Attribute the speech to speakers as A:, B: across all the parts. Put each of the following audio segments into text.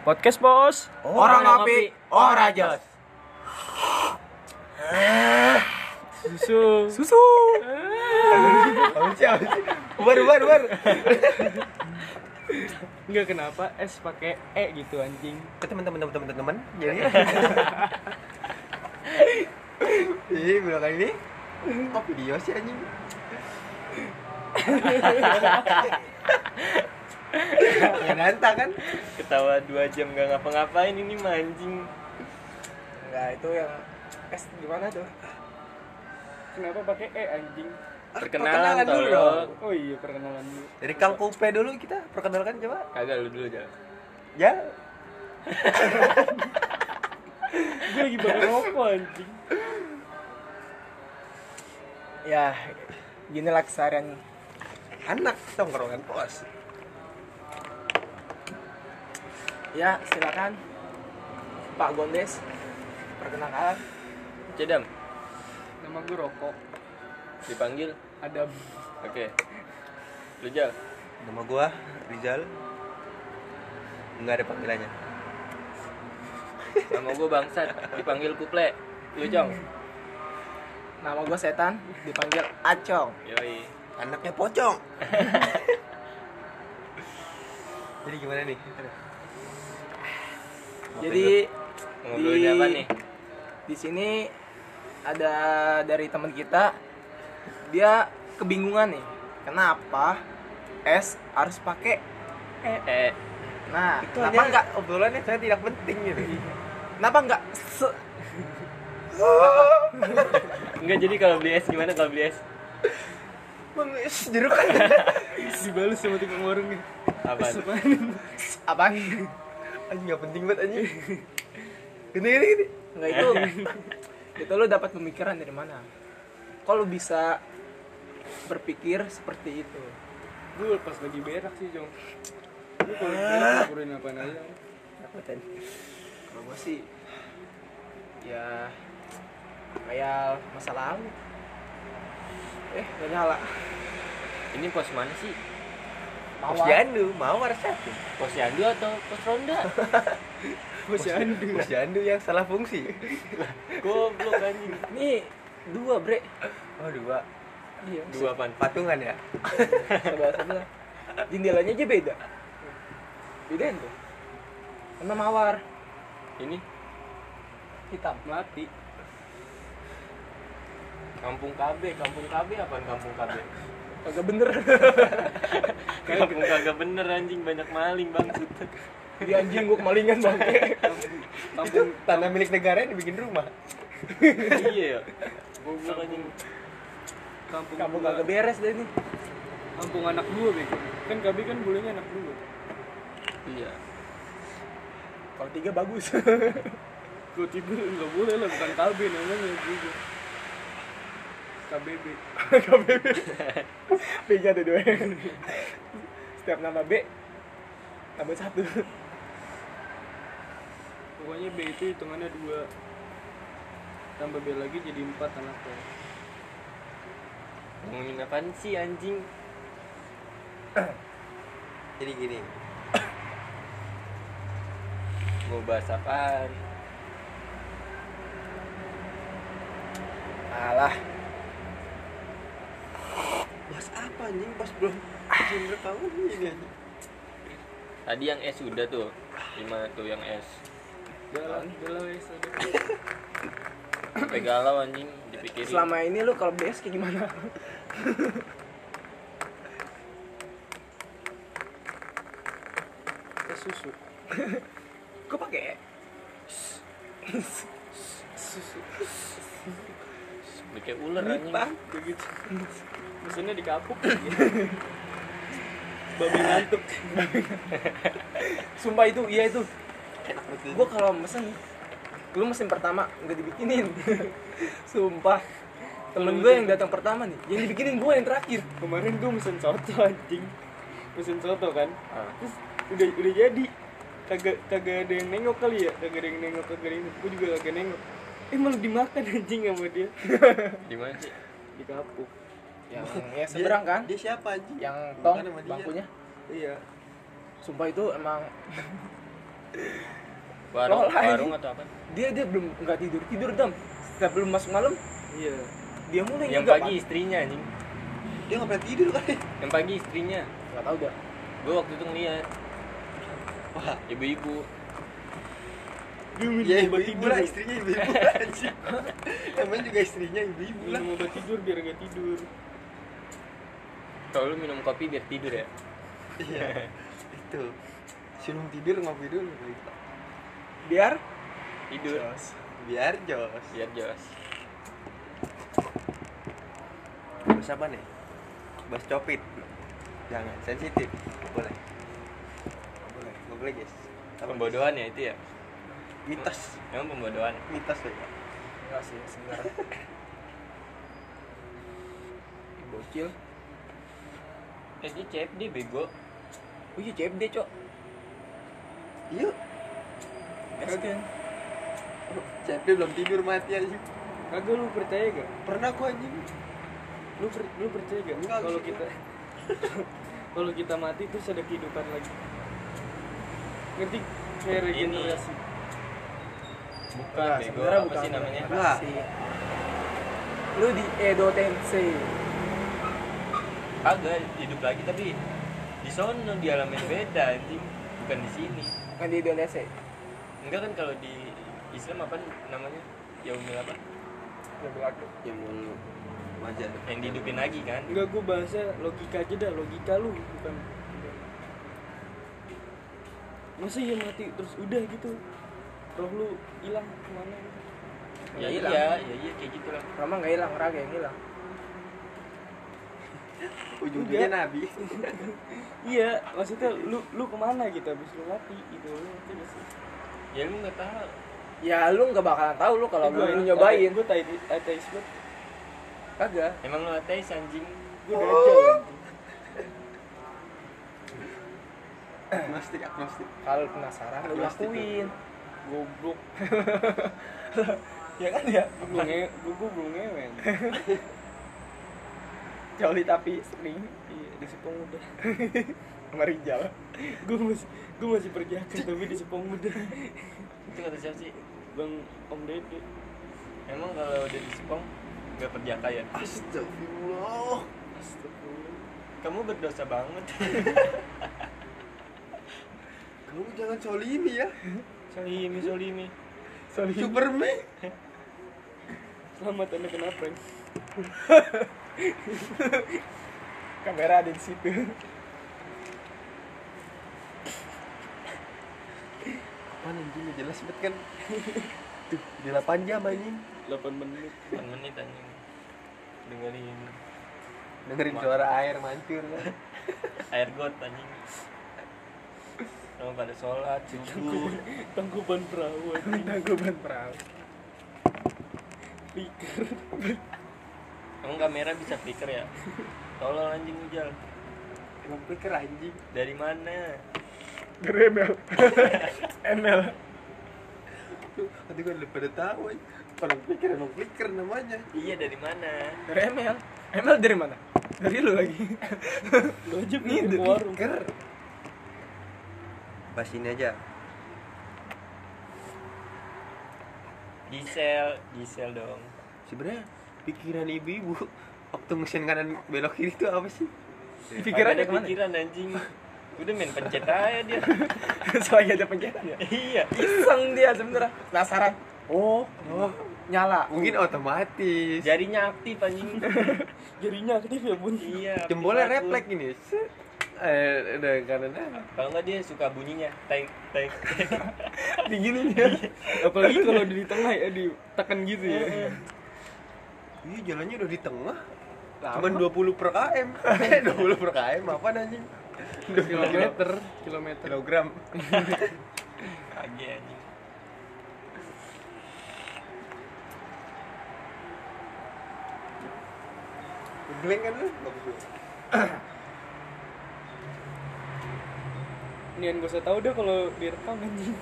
A: Podcast bos.
B: Orang ngopi, orang jos.
A: Susu.
B: Bubar.
A: Enggak, kenapa es pakai e gitu anjing.
B: Ke teman-teman. Jadi bilang ini kok video sih anjing. Ya nantang kan.
C: Ketawa 2 jam gak ngapa-ngapain ini mah anjing.
A: Enggak, itu yang es gimana tuh? Kenapa pakai e anjing?
C: Perkenalan
B: dulu
C: tolong.
B: dong.
A: Oh iya, perkenalan dulu.
B: Dari Kang Kupe dulu kita perkenalkan coba.
C: Kagak lu dulu aja.
B: Ya.
A: Gue lagi bakar rokok anjing. Ya, ginilah keseharian
B: Anak tongkrongan pos.
A: ya, silakan Pak Gondes, perkenalkan.
C: Cedam,
A: Nama gue Rokok.
C: dipanggil.
A: Ada
C: Oke. Lu Jal.
B: Nama gua Rizal. Enggak ada panggilannya.
C: Nama gua Bangsat, dipanggil Kuple. Lu Jong.
A: nama gue Setan, dipanggil Acong.
C: Yoi.
B: Anaknya pocong. Jadi gimana nih?
A: Jadi
C: Ngobrolin apa nih?
A: di sini ada dari teman kita, dia kebingungan nih, kenapa es harus pakai e. Nah,
B: Itu
A: kenapa
B: hanya
A: enggak?
B: obrolannya saya tidak penting gitu.
A: Kenapa enggak?
C: Enggak, jadi kalau beli es gimana kalau beli es?
B: Bang, jeruk.
A: Dibalus sama tukang warung gitu.
C: Apaan?
A: Apaan?
B: Anjing enggak penting banget anjing. Gini.
A: Enggak itu. Itu lo dapat pemikiran dari mana? Kok lo bisa berpikir seperti itu?
D: Gue pas lagi berak sih, Jong. Gue kalau berak laporin apaan aja.
A: Kalau gue sih ya kayak masa lalu. Gak nyala.
C: Ini pos mana sih?
B: Posyandu, Mawar satu.
C: Pos Yandu atau pos Ronda?
B: Posyandu yang salah fungsi.
C: Goblok anjing.
A: Ini 2 bre.
B: Oh, 2.
A: Iya.
C: 2 apaan?
B: Patungan ya?
A: Sebelah. Jendelanya aja beda. Bedain tuh. Sama mawar
C: Ini
A: hitam.
D: Melati.
C: Kampung KB apaan Kampung KB?
A: Kagak bener.
C: Kampung kagak bener anjing, banyak maling bangsat.
A: Di anjing gua kemalingan bangke.
B: Itu tanah milik negara yang dibikin rumah.
C: Iya ya. Goblok anjing.
A: Kamu kagak beres deh nih.
D: Kampung anak dua, bego. Kan KB kan bolehnya anak dua.
C: Iya.
A: Kalau 3 bagus.
D: Gue tidur nggak boleh lah, bukan KB namanya juga. KBB.
A: B-nya ada 2. Setiap nama B tambah 1.
D: Pokoknya B itu hitungannya 2. Tambah B lagi jadi 4 anaknya.
C: Ngomongin apaan sih anjing?
B: Jadi gini.
C: Mau bahas apaan?
A: Alah,
B: Bahas apa anjing pas belum izin rekaman ini anjing.
C: Tadi yang es udah tuh. Gimana tuh yang es?
D: Udah wes.
C: Sampai galau anjing dipikirin.
A: selama ini lu kalau BS kayak gimana?
D: Ke susu.
A: Gua pakai
C: Kayak ular anjing.
D: Begitu. Mesinnya dikapuk. Babi ngantuk.
A: Sumpah itu, iya itu.
B: Enak betul.
A: Gua kalau mesen, lu mesin pertama nggak dibikinin. Sumpah. Temen gue yang datang pertama nih, yang dibikinin gue yang terakhir.
D: Kemarin gue mesen soto anjing. Mesen soto kan.
C: Ah.
D: Terus udah jadi. Kagak ada yang nengok kali ya. Kagak ada yang nengok, kagak ada yang. Gue juga kagak nengok. Malah dimakan anjing sama dia.
C: Di mana sih?
D: Dikapuk.
A: Yang ya seberang kan?
B: Dia siapa anjing?
A: Yang tong
B: Bukan sama dia.
A: bangkunya.
D: Iya.
A: Sumpah itu emang
C: Warung,
A: Loh, anjing.
C: warung atau apa?
A: Dia belum nggak tidur dam. Sebelum masuk malam
D: Iya.
A: dia mulai
C: Yang
A: juga,
C: pagi istrinya anjing.
B: Dia nggak pernah tidur kali.
C: Yang pagi istrinya.
A: nggak tahu dah.
C: Gue waktu itu ngeliat
B: Wah,
C: ibu-ibu.
D: Gue minum
B: ya
D: obat
B: ibu-ibu
D: tidur.
B: lah, istrinya ibu-ibu anjing. Namanya juga istrinya ibu-ibu lah.
D: Minum obat tidur biar gak tidur.
C: Kalau lu minum kopi biar tidur ya.
B: Iya. Itu. Sebelum tidur ngopi dulu gitu.
A: Biar
C: Tidur.
B: Biar jos.
C: Biar jos.
B: Bahas apa nih? Bahas copit. Jangan sensitif. Boleh. Boleh guys. Apa,
C: Pembodohan ya itu ya.
B: mitos.
C: Emang pembodohan.
B: Mitos ya.
A: enggak sih sebenarnya. Bocil.
C: Dia CFD bego.
A: Oh iya CFD cok.
B: Iya.
A: Kan.
B: CFD belum tidur mati anjing.
D: Kagak, lu percaya gak?
B: Pernah gua anjing.
D: Lu percaya gak?
B: Enggak,
D: Kalau
B: sih,
D: kita kalau kita mati terus ada kehidupan lagi. Ngerti? Kayak regenerasi.
C: Bukan
A: Nah,
C: bego.
A: sebenarnya
C: Apa
A: bukan
C: sih namanya?
B: Wah.
A: sih. Lu di Edo Tensei.
C: Kagak hidup lagi tapi di sono di alam yang beda anjing. Bukan di sini.
A: Kan di Edo Tensei.
C: Enggak kan kalau di Islam apa namanya? Yaumil apa?
A: Ya berlaku.
B: Yang mau wajar.
C: Yang dihidupin lagi kan?
D: Enggak, gue bahasnya logika aja dah, logika lu bukan. Masa ya mati terus udah gitu? Roh lu hilang kemana gitu?
C: Ya
A: hilang.
C: iya kayak gitu lah.
A: Rama nggak hilang, raga yang hilang.
B: Ujung-ujungnya
D: Enggak.
B: nabi.
D: Iya, maksudnya lu kemana gitu abis lu mati gitu, lu ngerti gak sih?
C: Ya lu nggak tahu.
A: Ya lu nggak bakalan tahu lu kalau
D: Gua-
A: belum nyobain.
D: Gue ateis banget.
A: Kagak.
C: Emang lu ateis anjing?
D: Gue dajal anjing.
B: Agnostik.
A: Kalau penasaran lu
B: Agnostik.
A: lakuin.
D: Goblok.
A: Ya kan ya.
D: Gue belum ngewen.
A: Joli tapi sering
D: Iya, di Sepong udah.
A: sama Rijal.
D: Gue masih perjakan tapi di Sepong udah.
C: Itu kata siapa sih?
D: Bang Om Dede.
C: Emang kalau udah di Sepong nggak perjaka ya?
B: Astagfirullah.
D: Astagfirullah.
C: Kamu berdosa banget.
B: Kamu jangan solimi ya.
C: Solimi.
B: Superman.
D: Selamat Anda kena prank.
A: Kamera ada di situ.
B: Apaan anjing jelas banget kan. Tuh, di 8 jam anjing.
D: 8 menit.
C: 8 menit anjing.
B: Dengerin suara air mancur kan.
C: Air got anjing. Kamu pada sholat subuh.
D: Tangkuban perahu anjing.
A: Tangkuban perahu.
D: Pikir.
C: Emang kamera bisa flicker ya? Tolong anjing Ujal.
B: Emang pikir anjing.
C: Dari mana?
A: Dari ML. ML.
B: Nanti gue udah pada tahu anjing. Orang pikir emang flicker namanya.
C: Iya dari mana?
A: Dari ML. ML dari mana? Dari lu lagi.
D: Lu aja
A: Nih,
D: pikir ke warung.
B: Flicker. Pas ini aja.
C: Gisel dong.
B: Sebenarnya pikiran ibu-ibu waktu mesin kanan belok kiri itu apa sih?
A: Pikirannya
C: Ada
A: kemana?
C: pikiran anjing. Udah main pencet aja dia.
A: Soalnya ada pencetan ya.
C: Iya.
A: Iseng dia sebenarnya. Penasaran. Oh, nyala.
B: Mungkin otomatis.
C: Jarinya aktif anjing.
D: Jarinya aktif ya bun.
C: Iya. aktif
B: Jempolnya
C: banget,
B: refleks
C: Bun.
B: ini. Udah kanan.
C: Kalau nggak dia suka bunyinya. Tek.
A: Digini dia.
D: Apalagi kalau di tengah ya ditekan gitu ya.
B: Iya jalannya udah di tengah.
A: Lama.
B: Cuman 20 per km. 20 per km apa anjing? 20
D: Kilometer.
B: kilogram.
C: Kage anjing.
B: Geleng kan lu? Bagus.
D: Nian gak usah tahu deh kalau direkam anjing.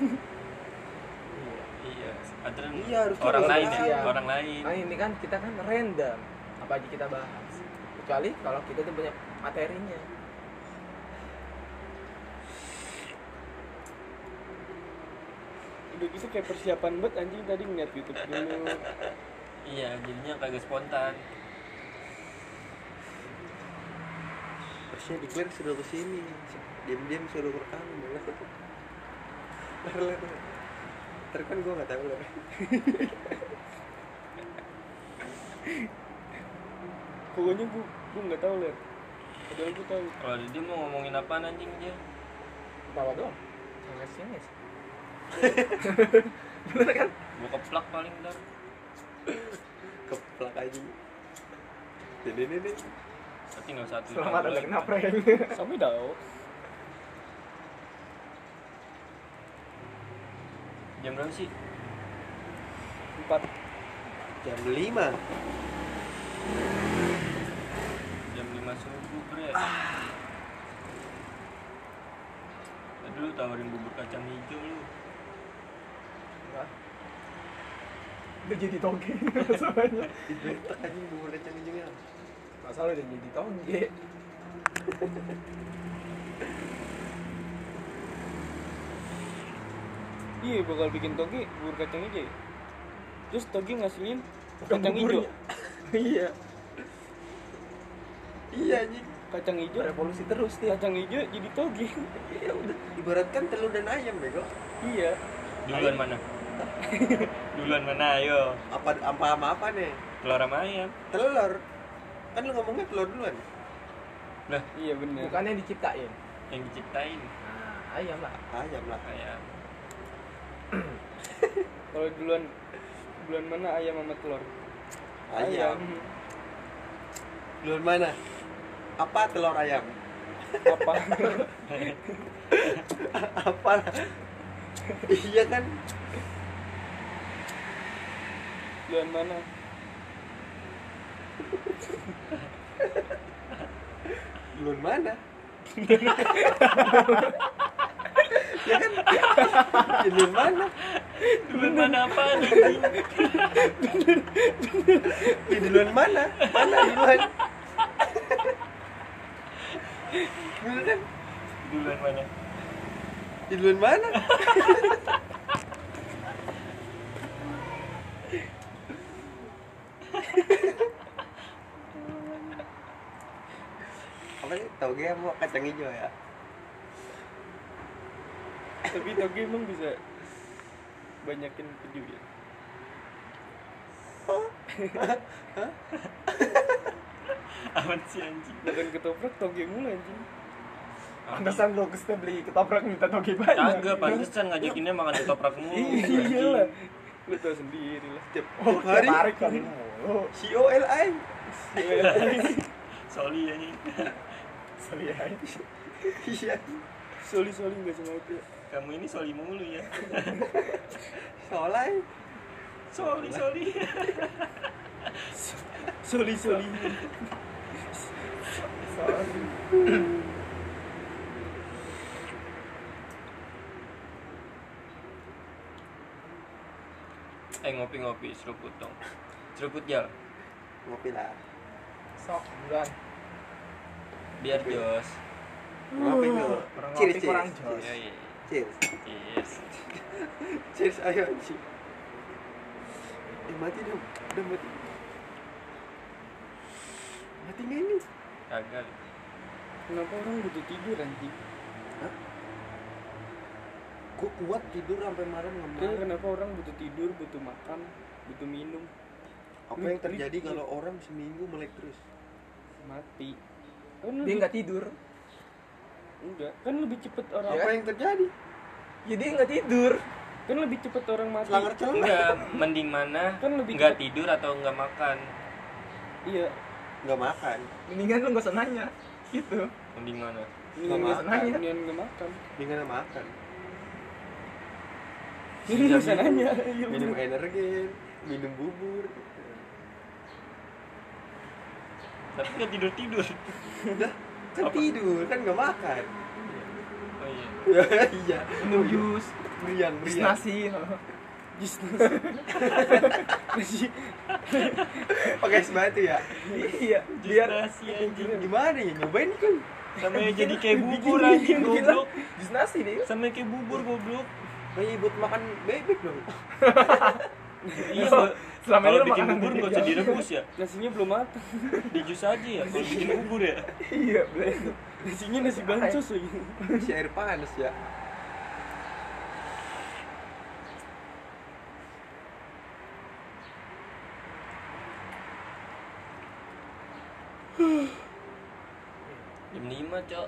C: Iya. Aturan
B: Iya, harusnya
C: orang
B: orang
C: lain ya.
A: lain.
C: Orang lain.
A: Nah ini kan kita kan random. Apa aja kita bahas. Kecuali kalau kita tuh punya materinya.
D: udah gitu kayak persiapan buat anjing tadi ngeliat YouTube dulu.
C: Iya, jadinya kagak spontan.
B: Harusnya declare suruh kesini, diam-diam suruh rekam malah. Ntar kan gue nggak tahu lah.
D: Pokoknya gue nggak tahu lah. Padahal gue tahu.
C: Kalau dia mau ngomongin apaan anjing dia?
A: Tawa doang. Sama sini. Gimana kan?
C: Gua keplak paling ntar.
B: Keplak aja. Ini.
C: Tapi nggak satu.
A: Selamat ada kena prank.
D: Sampai tahu.
C: Jam berapa sih?
D: 4.
B: Jam 5.
C: Jam 5 subuh, bre. Aduh, tawarin bubur kacang hijau lu.
A: Udah jadi toge masalahnya.
B: Dibentak aja bubur kacang hijaunya.
A: Masalah udah jadi toge.
D: Iya bakal bikin toge bubur kacang hijau ya? Terus toge ngasilin kacang hijau.
A: Iya.
B: Iya anjing.
D: Kacang hijau,
A: Revolusi terus dia.
D: kacang hijau jadi toge.
B: Iya udah. Ibaratkan telur dan ayam bego.
D: Iya.
C: Duluan mana? Duluan mana, ayo.
B: Apa sama apa nih?
C: Telur sama ayam.
B: Telur. Kan lu ngomongnya telur duluan.
C: Lah,
D: Iya benar.
A: Bukannya diciptain.
C: yang diciptain
A: Nah, ayam lah.
B: Ayam lah.
C: ayam.
D: Kalau duluan mana ayam sama telur?
B: Ayam. Duluan mana? Apa telur ayam?
D: Apa?
B: Apa? Iya kan?
D: Duluan mana?
B: Duluan mana? Ya kan? Duluan mana?
C: Duluan mana apa nih?
B: Di duluan mana? Mana duluan? Bener kan?
C: Duluan mana?
B: Di duluan mana? Apa sih? Toge mau kacang hijau ya?
D: Tapi toge emang bisa banyakin keju ya?
C: Aman sih anjing.
D: Bukan ketoprak toge mulu anjing.
A: Pantesan lo Gusta beli ketoprak minta toge banyak.
C: Kagak, pantesan ngajakinnya makan ketoprak mulu.
D: Iya lah. Lu tau sendiri lah.
B: Tiap
A: Oh,
B: hari
A: tarik kali mulu.
B: COLI.
C: Soli anjing.
A: Sorry ya.
B: Iya.
D: Soli nggak sengaja.
C: Kamu ini soli mulu ya.
B: Solai.
C: Soli.
D: Soli.
A: Sorry.
C: Ngopi seruput dong. Seruput jal.
B: Ngopi lah.
A: Sok bulan.
C: Biar jos.
B: Ngopi dulu.
A: Orang
B: Cheers,
A: ngopi kurang
B: cheers.
A: jos.
C: Yoi.
B: Cheers.
C: Yes.
B: Cheers ayo anjing. Mati dong. Udah mati. Mati nggak ini?
C: Kagak.
D: Kenapa orang butuh tidur anjing?
B: Hah? Gue kuat tidur sampai malam
D: Kan
B: nggak
D: kenapa orang butuh tidur, butuh makan, butuh minum?
B: Apa yang terjadi kalau orang seminggu melek terus?
D: Mati. Kan
A: Dia
D: lebih,
A: nggak tidur.
D: enggak, kan lebih cepet orang.
B: Apa yang terjadi?
A: Ya dia nggak tidur.
D: Kan lebih cepet orang mati.
B: Selangar celah.
C: Enggak, mending mana?
D: Kan lebih
C: Enggak
D: cepet.
C: tidur atau enggak makan?
D: Iya.
B: Nggak makan.
A: Mendingan lu nggak usah nanya. Gitu.
C: Mending mana?
D: Mendingan
B: Nggak
D: nggak
A: makan.
D: mendingan nggak makan.
B: Dengan makan.
D: Ini nggak usah nanya. Iya
B: Minum
D: bener.
B: energen, minum bubur.
C: Tapi enggak tidur.
B: Udah kan tidur kan nggak makan.
C: Oh iya.
B: Iya.
A: Minum jus.
B: Meriang.
A: Jus nasi.
D: Jus nasi.
B: Pakai es batu ya.
A: Iya.
C: Biar
A: Biar
C: nasi anjing.
B: Gimana ya nyobain kan?
C: Sampai jadi kayak bubur anjing goblok.
A: jus nasi deh.
C: Sampai kayak bubur goblok.
B: Kayak buat makan bebek dong.
C: Iya,
A: Selama ini
C: kalau
A: lu
C: bikin
A: makanan
C: bubur
A: bebek
C: nggak usah
A: ya?
C: direbus ya,
D: Nasinya belum matang.
C: di jus aja ya. Kalau bikin bubur ya.
A: Iya, bener.
D: Nasinya nasi bancos lagi.
B: Si air panas ya.
C: Jam 5, Cok.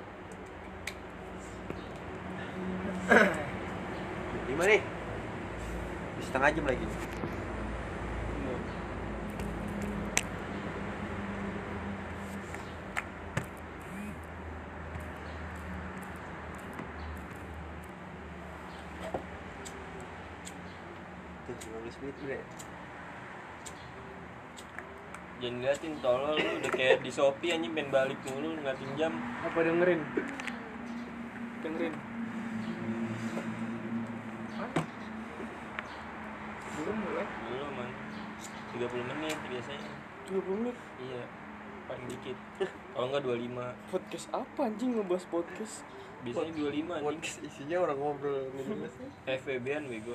B: Gimana nih? Setengah jam lagi. Tuh 15 menit udah ya?
C: Jangan ngeliatin tolol lu udah kayak di Shopee anjing pengen balik mulu ngeliatin jam.
D: Apa dengerin? Dengerin.
A: Belum mulai.
C: Belum man. 30 menit biasanya.
D: 20 menit.
C: Iya. Paling dikit. Kalau enggak 25.
D: Podcast apa anjing ngebahas podcast?
C: Biasanya 25 anjing.
B: Podcast isinya orang ngobrol ngejelas.
C: FVB-an bego.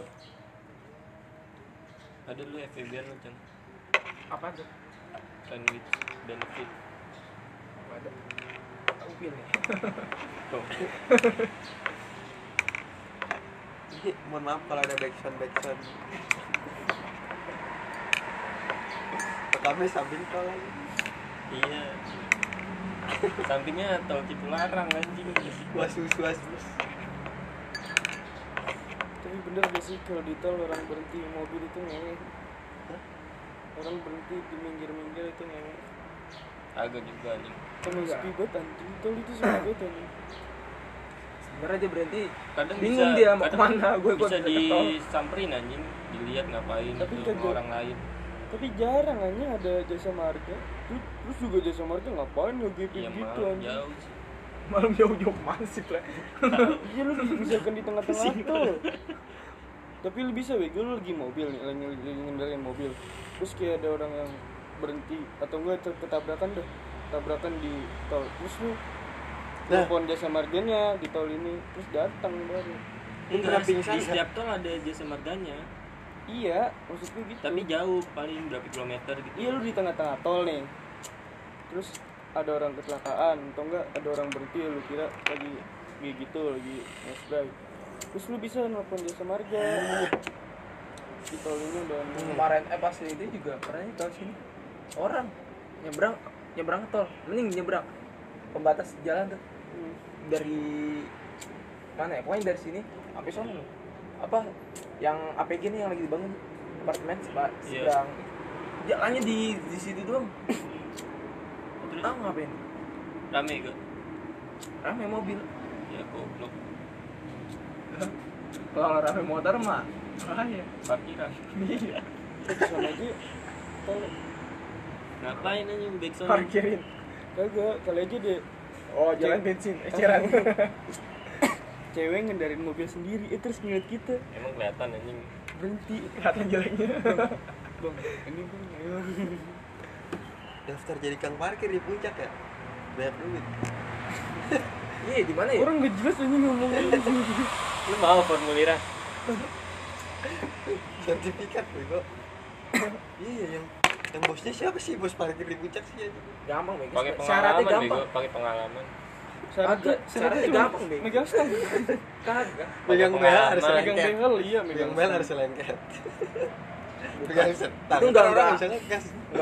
C: Ada lu FVB-an lu, Chan.
A: Apa tuh?
C: Sandwich benefit.
A: Ada. Upin ya.
C: Tuh.
B: Mohon maaf kalau ada backsound. Rekamnya sambil tol lagi.
C: Iya. Sampingnya tol Cipularang anjing.
B: Was.
D: Tapi bener gak sih kalau di tol orang berhenti mobil itu ngewe? Orang berhenti di minggir-minggir itu ngewe.
C: Agak juga anjing.
D: Kan sepi banget anjing, tol itu sepi banget anjing.
A: Sebenarnya dia berhenti.
C: Kadang
A: Bingung
C: bisa,
A: dia mau
C: kadang
A: kemana. Gue
C: bisa disamperin anjing, dilihat ngapain
D: Tapi
C: itu
D: kagak.
C: sama orang lain.
D: Tapi jarang anjing ada jasa marga. Terus juga jasa marga ngapain ngegepin
C: Iya
D: gitu
C: malah
D: anjing.
C: jauh sih.
A: Malam jauh-jauh kemana sih, Ple?
D: Iya lu misalkan di tengah-tengah tol. Tapi lu bisa weh, lu lagi mobil nih, lagi ngendarin mobil. Terus kayak ada orang yang berhenti atau enggak ketabrakan dah. Tabrakan di tol. Terus lu telepon jasa marganya di tol ini, terus datang baru.
C: Enggak,
B: pingsan
C: di
B: nggak?
C: setiap tol ada jasa marganya.
D: Iya, maksudnya gitu.
C: Tapi jauh, paling berapa kilometer gitu.
D: Iya lu di tengah-tengah tol nih. Terus ada orang kecelakaan atau enggak ada orang berhenti lu kira lagi kayak gitu lagi nge-drive. Terus lu bisa nelfon jasa marga. Di tol ini dan
A: Kemarin pas itu juga pernah di tol sini. Orang nyebrang ke tol. Mending nyebrang pembatas jalan tuh. Dari mana ya? Pokoknya dari sini sampai sana loh. Apa yang APG nih yang lagi dibangun apartemen seberang.
C: Iya.
A: Jalannya di situ doang.
C: Terus
A: Ah, ngapain?
C: rame gak?
A: Rame mobil.
C: Ya goblok.
A: Kalau rame motor mah bahaya.
C: Parkiran.
A: Iya.
D: sana aja tol
C: Ngapain anjing backsound?
A: Parkirin.
D: kagak kali aja deh
A: Oh, jalan bensin. Eceran.
D: cewek ngendarin mobil sendiri terus ngeliat kita
C: Emang kelihatan anjing.
D: berhenti
A: Kelihatan jeleknya.
D: bang ini bang ayo
B: Daftar jadi kang parkir di puncak ya? Banyak duit.
A: Iya, di mana ya?
D: orang nggak jelas ini ngomongnya
C: Lu mau formulirnya?
B: Sertifikat bego. Iya yang bosnya siapa sih bos parkir di puncak sih ya?
A: Gampang, Bang.
C: Pakai
A: Syaratnya
C: pengalaman
A: gampang.
C: bego, pakai pengalaman.
A: Syaratnya
D: cuma
A: gampang, Bang.
D: megang stang
A: Kagak.
B: Megang
C: Pakai
B: bel harus
C: pengalaman.
D: megang
B: lengket.
D: behel iya
B: Megang
D: megang
B: bel
D: stang.
B: harus lengket. Megang setang.
A: Itu enggak,
B: Orang
A: enggak.
B: bisa ngegas.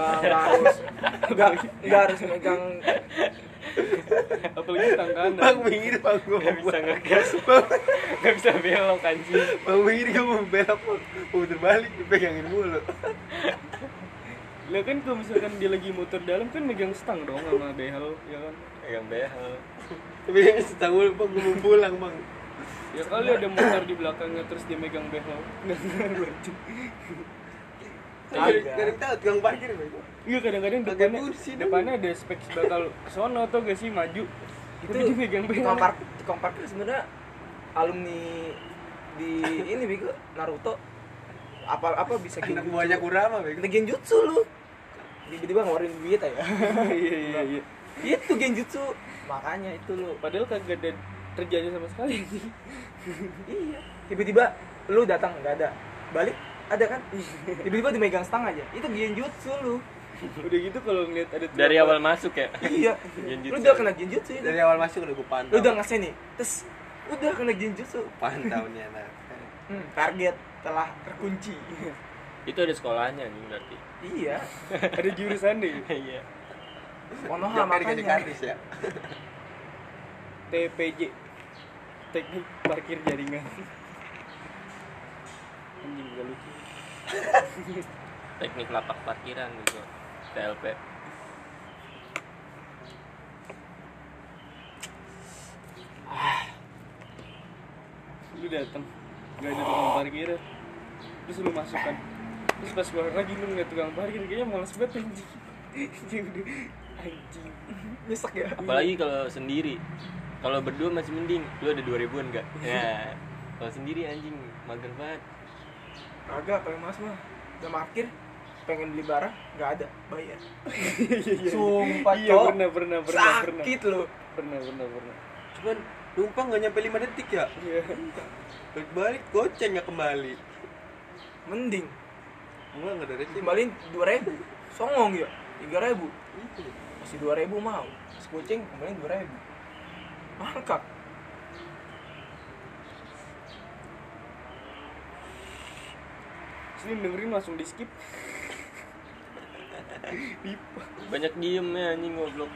A: Enggak harus megang.
D: apalagi stang kanan
B: Bang minggir bang gue
C: Gak bisa ngegas. Gak bisa belok anjing.
B: Bang minggir gue mau belok mau puter balik dipegangin mulu.
D: lah kan kalau misalkan dia lagi muter dalam kan megang stang dong sama behel ya kan
C: Pegang behel.
B: Tapi setang mulu bang gue mau pulang bang.
D: ya kali ada motor di belakangnya terus dia megang behel nggak ngaruh anjing.
B: Gak ada yang tahu tukang parkir bego.
D: Iya kadang-kadang
B: Pakai
D: depannya
B: kursi dong.
D: depannya ada spek bakal kesono atau gak sih maju
A: Itu
D: tapi dia megang behel
A: tukang parkir sebenarnya alumni di ini Bego Naruto. Apa bisa
B: Anak
A: genjutsu.
B: buahnya Kurama bego.
A: Ada genjutsu lu. Tiba-tiba ngeluarin duit ya.
D: iya iya
A: Itu genjutsu. Makanya itu lu.
D: padahal kagak ada terjadi sama sekali
A: Iya. Tiba-tiba lu datang nggak ada, balik ada kan, tiba-tiba dimegang stang aja, itu genjutsu lu.
D: Udah gitu kalau ngeliat ada tukang
C: Dari awal masuk ya.
A: Iya,
C: Genjutsu.
A: lu udah kena genjutsu itu.
B: Dari awal masuk udah gue
A: Lu
B: pantau.
A: udah ngasih nih, terus udah kena genjutsu.
B: Pantau nih anak.
A: Target telah terkunci.
C: Itu ada sekolahnya nih berarti.
A: Iya,
D: ada jurusan deh.
C: Iya.
A: Konoha
B: Jamnya dikasih
A: makanya.
B: kardus ya.
D: TPJ, teknik parkir jaringan. Anjing gak lucu.
C: Teknik lapak parkiran gitu. TLP.
D: Lu datang gak ada tukang parkir, terus lu masukkan, terus pas keluar lagi lu ngeliat tukang parkir kayaknya males banget anjing. Dia udah anjing
A: Nyesek ya.
C: Apalagi kalau sendiri. Kalau berdua masih mending. Lu ada 2000-an enggak? Ya. Kalau sendiri anjing mager banget.
A: Agak paling mas mah udah parkir, pengen beli barang nggak ada, bayar. Sumpah
D: iya
A: cok,
D: pernah
A: sakit lu.
D: pernah
B: Cuman numpang gak nyampe 5 detik ya.
D: iya.
B: Balik goceng gak kembali.
A: Mending
B: Enggak ada receh.
A: kembaliin 2.000, songong ya 3.000,
B: Itu.
A: masih 2.000 mau, terus kucing kembaliin 2.000, mangkak.
D: Sini dengerin langsung di skip.
C: Banyak diem ya anjing goblok.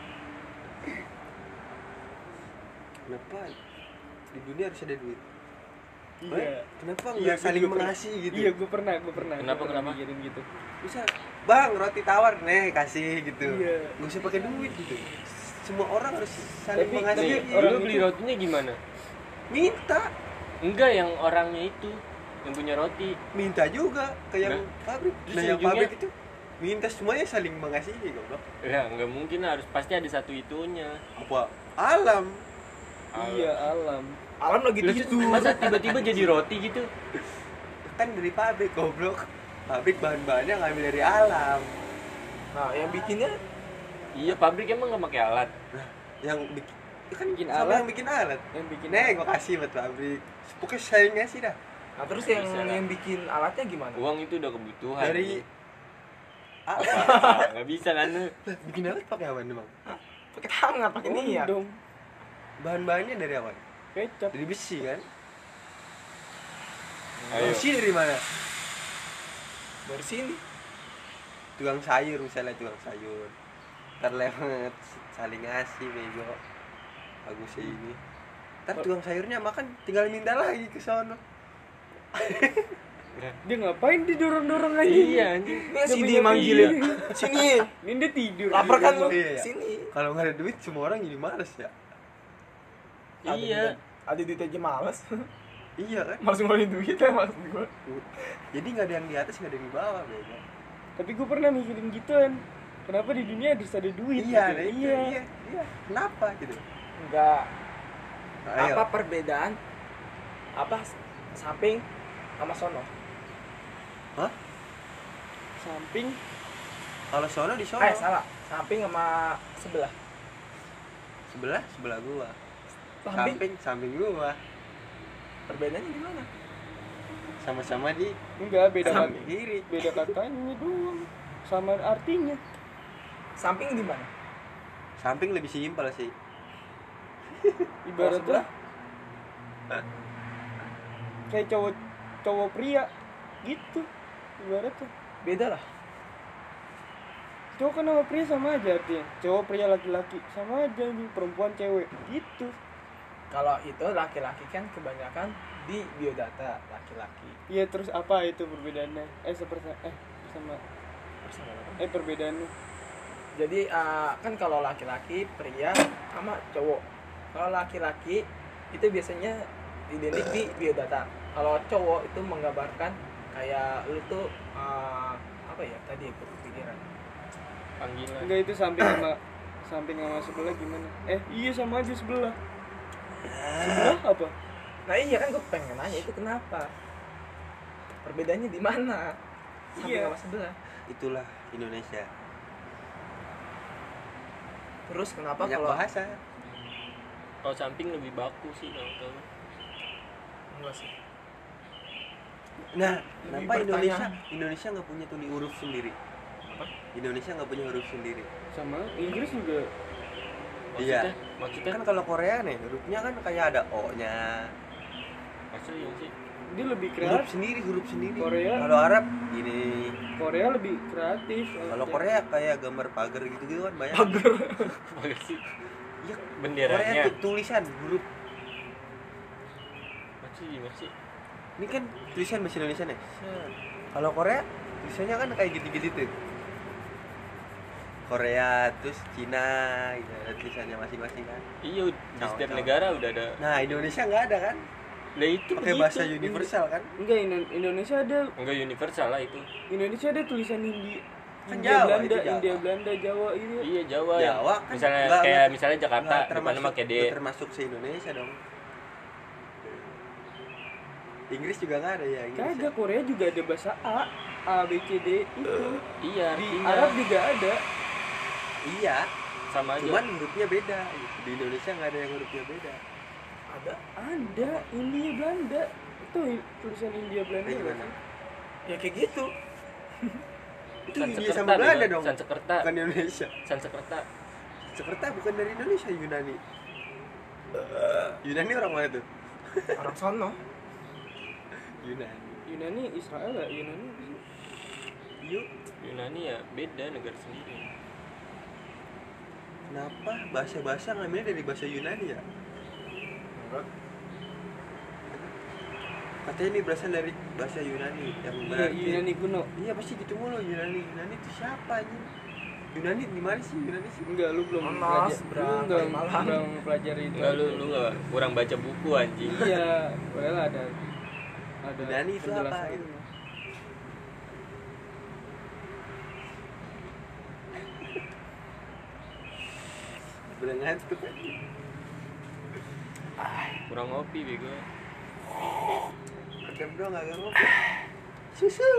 B: Kenapa di dunia harus ada duit?
D: Iya.
B: Kenapa
D: Iya,
B: nggak saling
D: gua pernah.
B: mengasihi gitu?
D: Iya, gue pernah.
C: Kenapa?
D: Mikirin gitu.
B: Bisa, bang roti tawar nih kasih gitu.
D: Iya.
B: Gak usah pakai duit gitu. Semua orang harus saling
D: Tapi-
B: mengasihi.
C: Nih,
D: orang
C: lu beli
D: itu-
C: rotinya gimana?
B: Minta,
C: Enggak, yang orangnya itu yang punya roti.
B: minta juga ke yang
C: Nah,
B: pabrik.
C: terus
B: Nah yang
C: ujungnya-
B: pabrik itu minta semuanya saling mengasihi goblok.
C: Ya, enggak mungkin harus pasti ada satu itunya.
B: Apa? Alam.
D: Iya, alam.
A: Alam lagi
C: Lu
A: gitu.
C: masa tiba-tiba jadi roti gitu?
B: Kan dari pabrik goblok. Pabrik bahan-bahannya ngambil dari alam.
A: Nah yang bikinnya
C: Iya, pabrik emang nggak pakai alat.
B: Nah, yang bikin kan
D: Bikin
B: sama
D: alat.
B: yang bikin alat.
D: Yang bikin
B: Nih, gua kasih buat pabrik. Pokoknya saya ngasih dah.
A: nah terus yang
C: Bisa lah.
A: yang bikin alatnya gimana?
C: Uang itu udah kebutuhan.
B: Dari
C: apa? Nggak bisa kan lu?
B: Lah, bikin alat pakai apa nih, Bang?
A: Pakai tangan, pakai niat.
D: dong.
B: Bahan-bahannya dari apa?
D: Kecap.
B: Dari besi kan?
C: Ayo.
B: Besi dari mana?
A: Dari sini.
B: Tukang sayur misalnya, tukang sayur. Ntar lewat saling ngasih bego. Bagus sih ini. Ntar tukang sayurnya makan tinggal minta lagi ke sono.
D: Dia ngapain didorong-dorong aja?
C: Iya anjing.
A: Ini sini
D: punya
A: manggil
C: iya.
A: ya. Sini.
D: Ini dia tidur.
A: Lapar kan lu?
B: Iya.
A: Sini.
B: Kalau nggak ada duit semua orang jadi males ya.
C: Iya.
A: Ada duit aja males.
B: Iya kan?
A: Males ngeluarin duit ya maksud gua.
B: Jadi nggak ada yang di atas nggak ada yang di bawah bego.
D: Tapi gue pernah mikirin gituan. Kenapa di dunia harus ada duit?
B: Iya,
D: gitu?
B: nah itu, iya. Kenapa gitu?
A: Enggak.
B: Ayo.
A: Apa perbedaan apa samping sama sono?
B: Hah?
D: Samping
B: Kalau sono di sono.
A: Salah. Samping sama sebelah.
B: Sebelah gua.
A: Samping
B: Samping gua.
A: perbedaannya gimana?
B: Sama-sama di
D: enggak beda
B: samping
D: kata.
B: kiri.
D: Beda katanya doang. Sama artinya.
A: Samping di mana?
B: Samping lebih simpel sih.
D: Ibaratnya
A: sebelah?
D: kayak cowok pria gitu. Ibaratnya
A: Beda lah.
D: cowok kan sama pria sama aja artinya. Cowok pria laki-laki sama aja nih, perempuan cewek gitu.
A: Kalau itu laki-laki kan kebanyakan di biodata laki-laki.
D: Iya, terus apa itu perbedaannya? Sama
A: Bersama apa?
D: perbedaannya.
A: Jadi kan kalau laki-laki pria sama cowok. Kalau laki-laki itu biasanya identik di biodata. Kalau cowok itu menggambarkan kayak lu tuh apa ya tadi aku kepikiran.
C: Panggilan.
D: Enggak, itu samping sama sebelah gimana? Iya sama aja sebelah. Sebelah apa?
A: Nah iya kan gue pengen nanya itu kenapa? Perbedaannya di mana? Samping
D: Iya.
A: sama sebelah.
B: Itulah Indonesia.
A: Terus kenapa
B: Banyak
A: kalau
B: bahasa.
C: Kalau samping lebih baku sih kalau tahu.
A: enggak sih?
B: Nah,
A: Lebih
B: kenapa Indonesia
A: bertanya.
B: Indonesia nggak punya tulis huruf sendiri? Indonesia nggak punya huruf sendiri.
D: Sama Inggris juga.
B: Iya.
C: Maksudnya
B: Kan kalau Korea nih hurufnya kan kayak ada O-nya.
C: maksudnya sih.
D: Dia lebih
B: Huruf
D: kreatif.
B: sendiri.
D: Korea.
B: Kalau Arab gini.
D: Korea lebih kreatif.
B: Kalau Korea kayak gambar pagar gitu kan banyak.
C: Bagus sih.
B: Iya,
C: Benderanya.
B: Korea tuh tulisan huruf.
C: Masih.
B: Ini kan tulisan bahasa Indonesia nih. Kalau Korea tulisannya kan kayak gitu-gitu tuh. Korea terus Cina gitu ada tulisannya masing-masing kan.
C: Iya, di setiap
B: Tahu.
C: negara udah ada.
B: Nah, Indonesia nggak ada kan?
C: Lah itu
B: Pakai
C: begitu.
B: bahasa universal kan?
D: Enggak, Indonesia ada.
C: Enggak universal lah itu.
D: Indonesia ada tulisan
B: Kan
D: Hindia
B: Jawa,
D: Belanda,
B: itu Jawa.
D: India Belanda, Jawa ini.
C: Iya Jawa.
B: Jawa kan
C: Misalnya
B: nggak-
C: kayak
B: nggak-
C: misalnya Jakarta,
B: Nggak
C: depannya pakai D.
B: termasuk se Indonesia dong. Inggris juga nggak ada ya Inggris.
D: Kagak, Korea juga ada bahasa A, B, C, D itu.
C: Iya,
D: Di
C: artinya
D: Arab juga ada.
B: Iya,
C: sama aja.
B: cuman hurufnya beda. Di Indonesia nggak ada yang hurufnya beda.
D: Ada India Belanda. Itu tulisan India Belanda.
B: Kayak
D: nggak
B: gimana?
D: sih?
A: Ya kayak gitu.
B: Itu India
C: Sansekerta
B: sama Belanda
C: bego.
B: dong.
C: Sansekerta.
B: Bukan Indonesia.
C: Sansekerta.
B: Jakarta bukan dari Indonesia, Yunani. Yunani orang mana tuh?
A: Orang sono.
B: Yunani.
D: Yunani Israel ya, Yunani apa sih?
B: Yuk,
C: Yunani ya beda negara sendiri.
B: kenapa bahasa-bahasa ngambilnya dari bahasa Yunani ya?
A: Enggak.
B: Katanya ini berasal dari bahasa Yunani yang
D: Iya,
B: berarti
D: Yunani kuno.
B: Iya pasti gitu mulu Yunani. Yunani itu siapa aja? Yunani di mana sih Yunani sih?
D: Enggak, lu belum
A: Monos,
D: lu
A: Bra,
D: enggak
A: Malang.
D: belum pelajari itu.
C: Enggak lu enggak kurang baca buku anjing.
D: Iya, padahal ada
B: Yunani itu apa,
D: penjelasannya.
B: gitu? Bener ngantuk aja.
C: Kurang ngopi bego.
B: Ada bro nggak ngopi. Susu.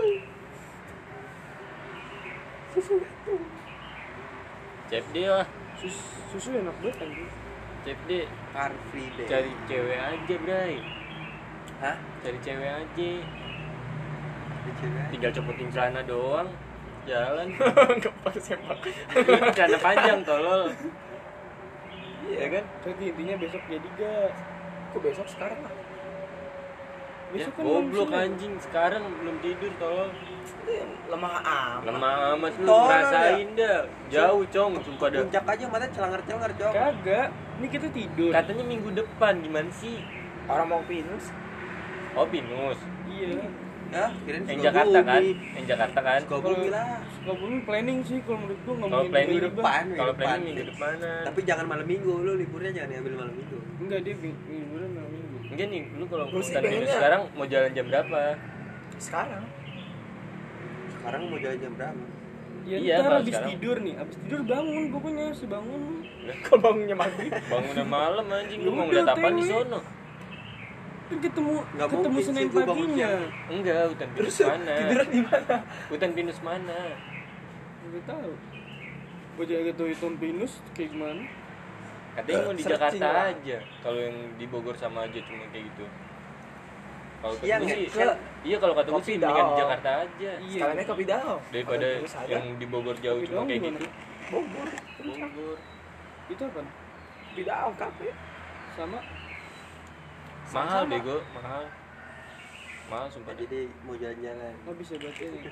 B: Susu itu.
C: CFD lah.
D: Susu enak banget anjing.
C: CFD
B: Car free day.
C: cari cewek aja, Bray.
B: Hah?
C: Cari cewek aja.
B: Ada cewek?
C: Tinggal copotin celana doang. Jalan.
A: Enggak pakai sepak.
C: Celana panjang tolol. Iya kan?
D: Jadi intinya besok jadi gak?
A: Kok besok sekarang lah?
C: Ya,
D: Besok kan
C: goblok
D: malam
C: anjing sekarang belum tidur tolol.
A: Lemah amat.
C: Lemah amat lu
B: Tolol
C: ngerasain dah. Jauh cong sumpah dah.
B: Puncak aja mata celangar-celangar cok.
D: Kagak. Ini kita tidur.
C: Katanya minggu depan gimana sih?
A: Orang mau pinus.
C: Oh Pinus.
D: Iya.
B: Ya, kirain
C: Yang
B: Sukabumi.
C: Jakarta kan? Yang Jakarta kan?
B: Sukabumi lah.
D: Sukabumi planning sih kalau menurut gua
C: Kalau
D: ngomongin
C: planning
D: minggu depan.
C: Kalau planning minggu depanan.
B: Tapi jangan malam minggu, lu liburnya jangan diambil malam minggu.
D: Enggak, dia liburan malam minggu.
C: Enggak nih, lu kalau
A: Gua sih
C: hutan pinus
A: pengennya-
C: sekarang mau jalan jam berapa?
A: Sekarang.
B: Sekarang mau jalan jam berapa?
D: Ya,
C: Iya,
D: ntar
C: kalau
D: habis
C: sekarang.
D: tidur nih, habis tidur bangun pokoknya sebangun.
A: Kalau bangunnya maghrib.
C: Bangunnya malam anjing, lu
D: Ya
C: mau
D: udah,
C: ngeliat apaan di
D: TW.
C: sono?
D: Kan ketemu
B: Nggak
D: ketemu
B: mungkin sih
D: Senin
B: gua bangun
D: paginya.
C: Enggak, hutan pinus mana?
A: Tiduran di mana?
C: Hutan pinus mana?
D: Enggak tahu. Gua jaga tuh hitung pinus kayak gimana?
C: Katanya mau di
A: Searching
C: Jakarta
A: lah.
C: aja. Kalau yang di Bogor sama aja cuma kayak gitu. Kalau kata
B: Iya,
C: gue
B: nggak?
C: sih,
A: Ke-
C: iya kalau kata gue
A: Kopi
C: sih mendingan di
A: Dao.
C: Jakarta aja.
D: Iya.
A: Sekaliannya kopi dao.
C: Daripada
A: Kopi Pinus ada.
C: yang di Bogor jauh
D: Kopi
C: cuma
D: doang
C: kayak
D: gimana?
C: gitu.
A: Bogor.
C: Bogor.
D: Itu apa?
A: Kopi dao kafe.
D: Sama
C: Mahal
A: Sama-sama.
C: bego, mahal. Mahal sumpah.
B: Jadi mau jalan-jalan.
D: habis ya berarti ini.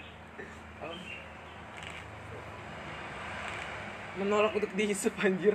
A: Menolak untuk dihisap anjir.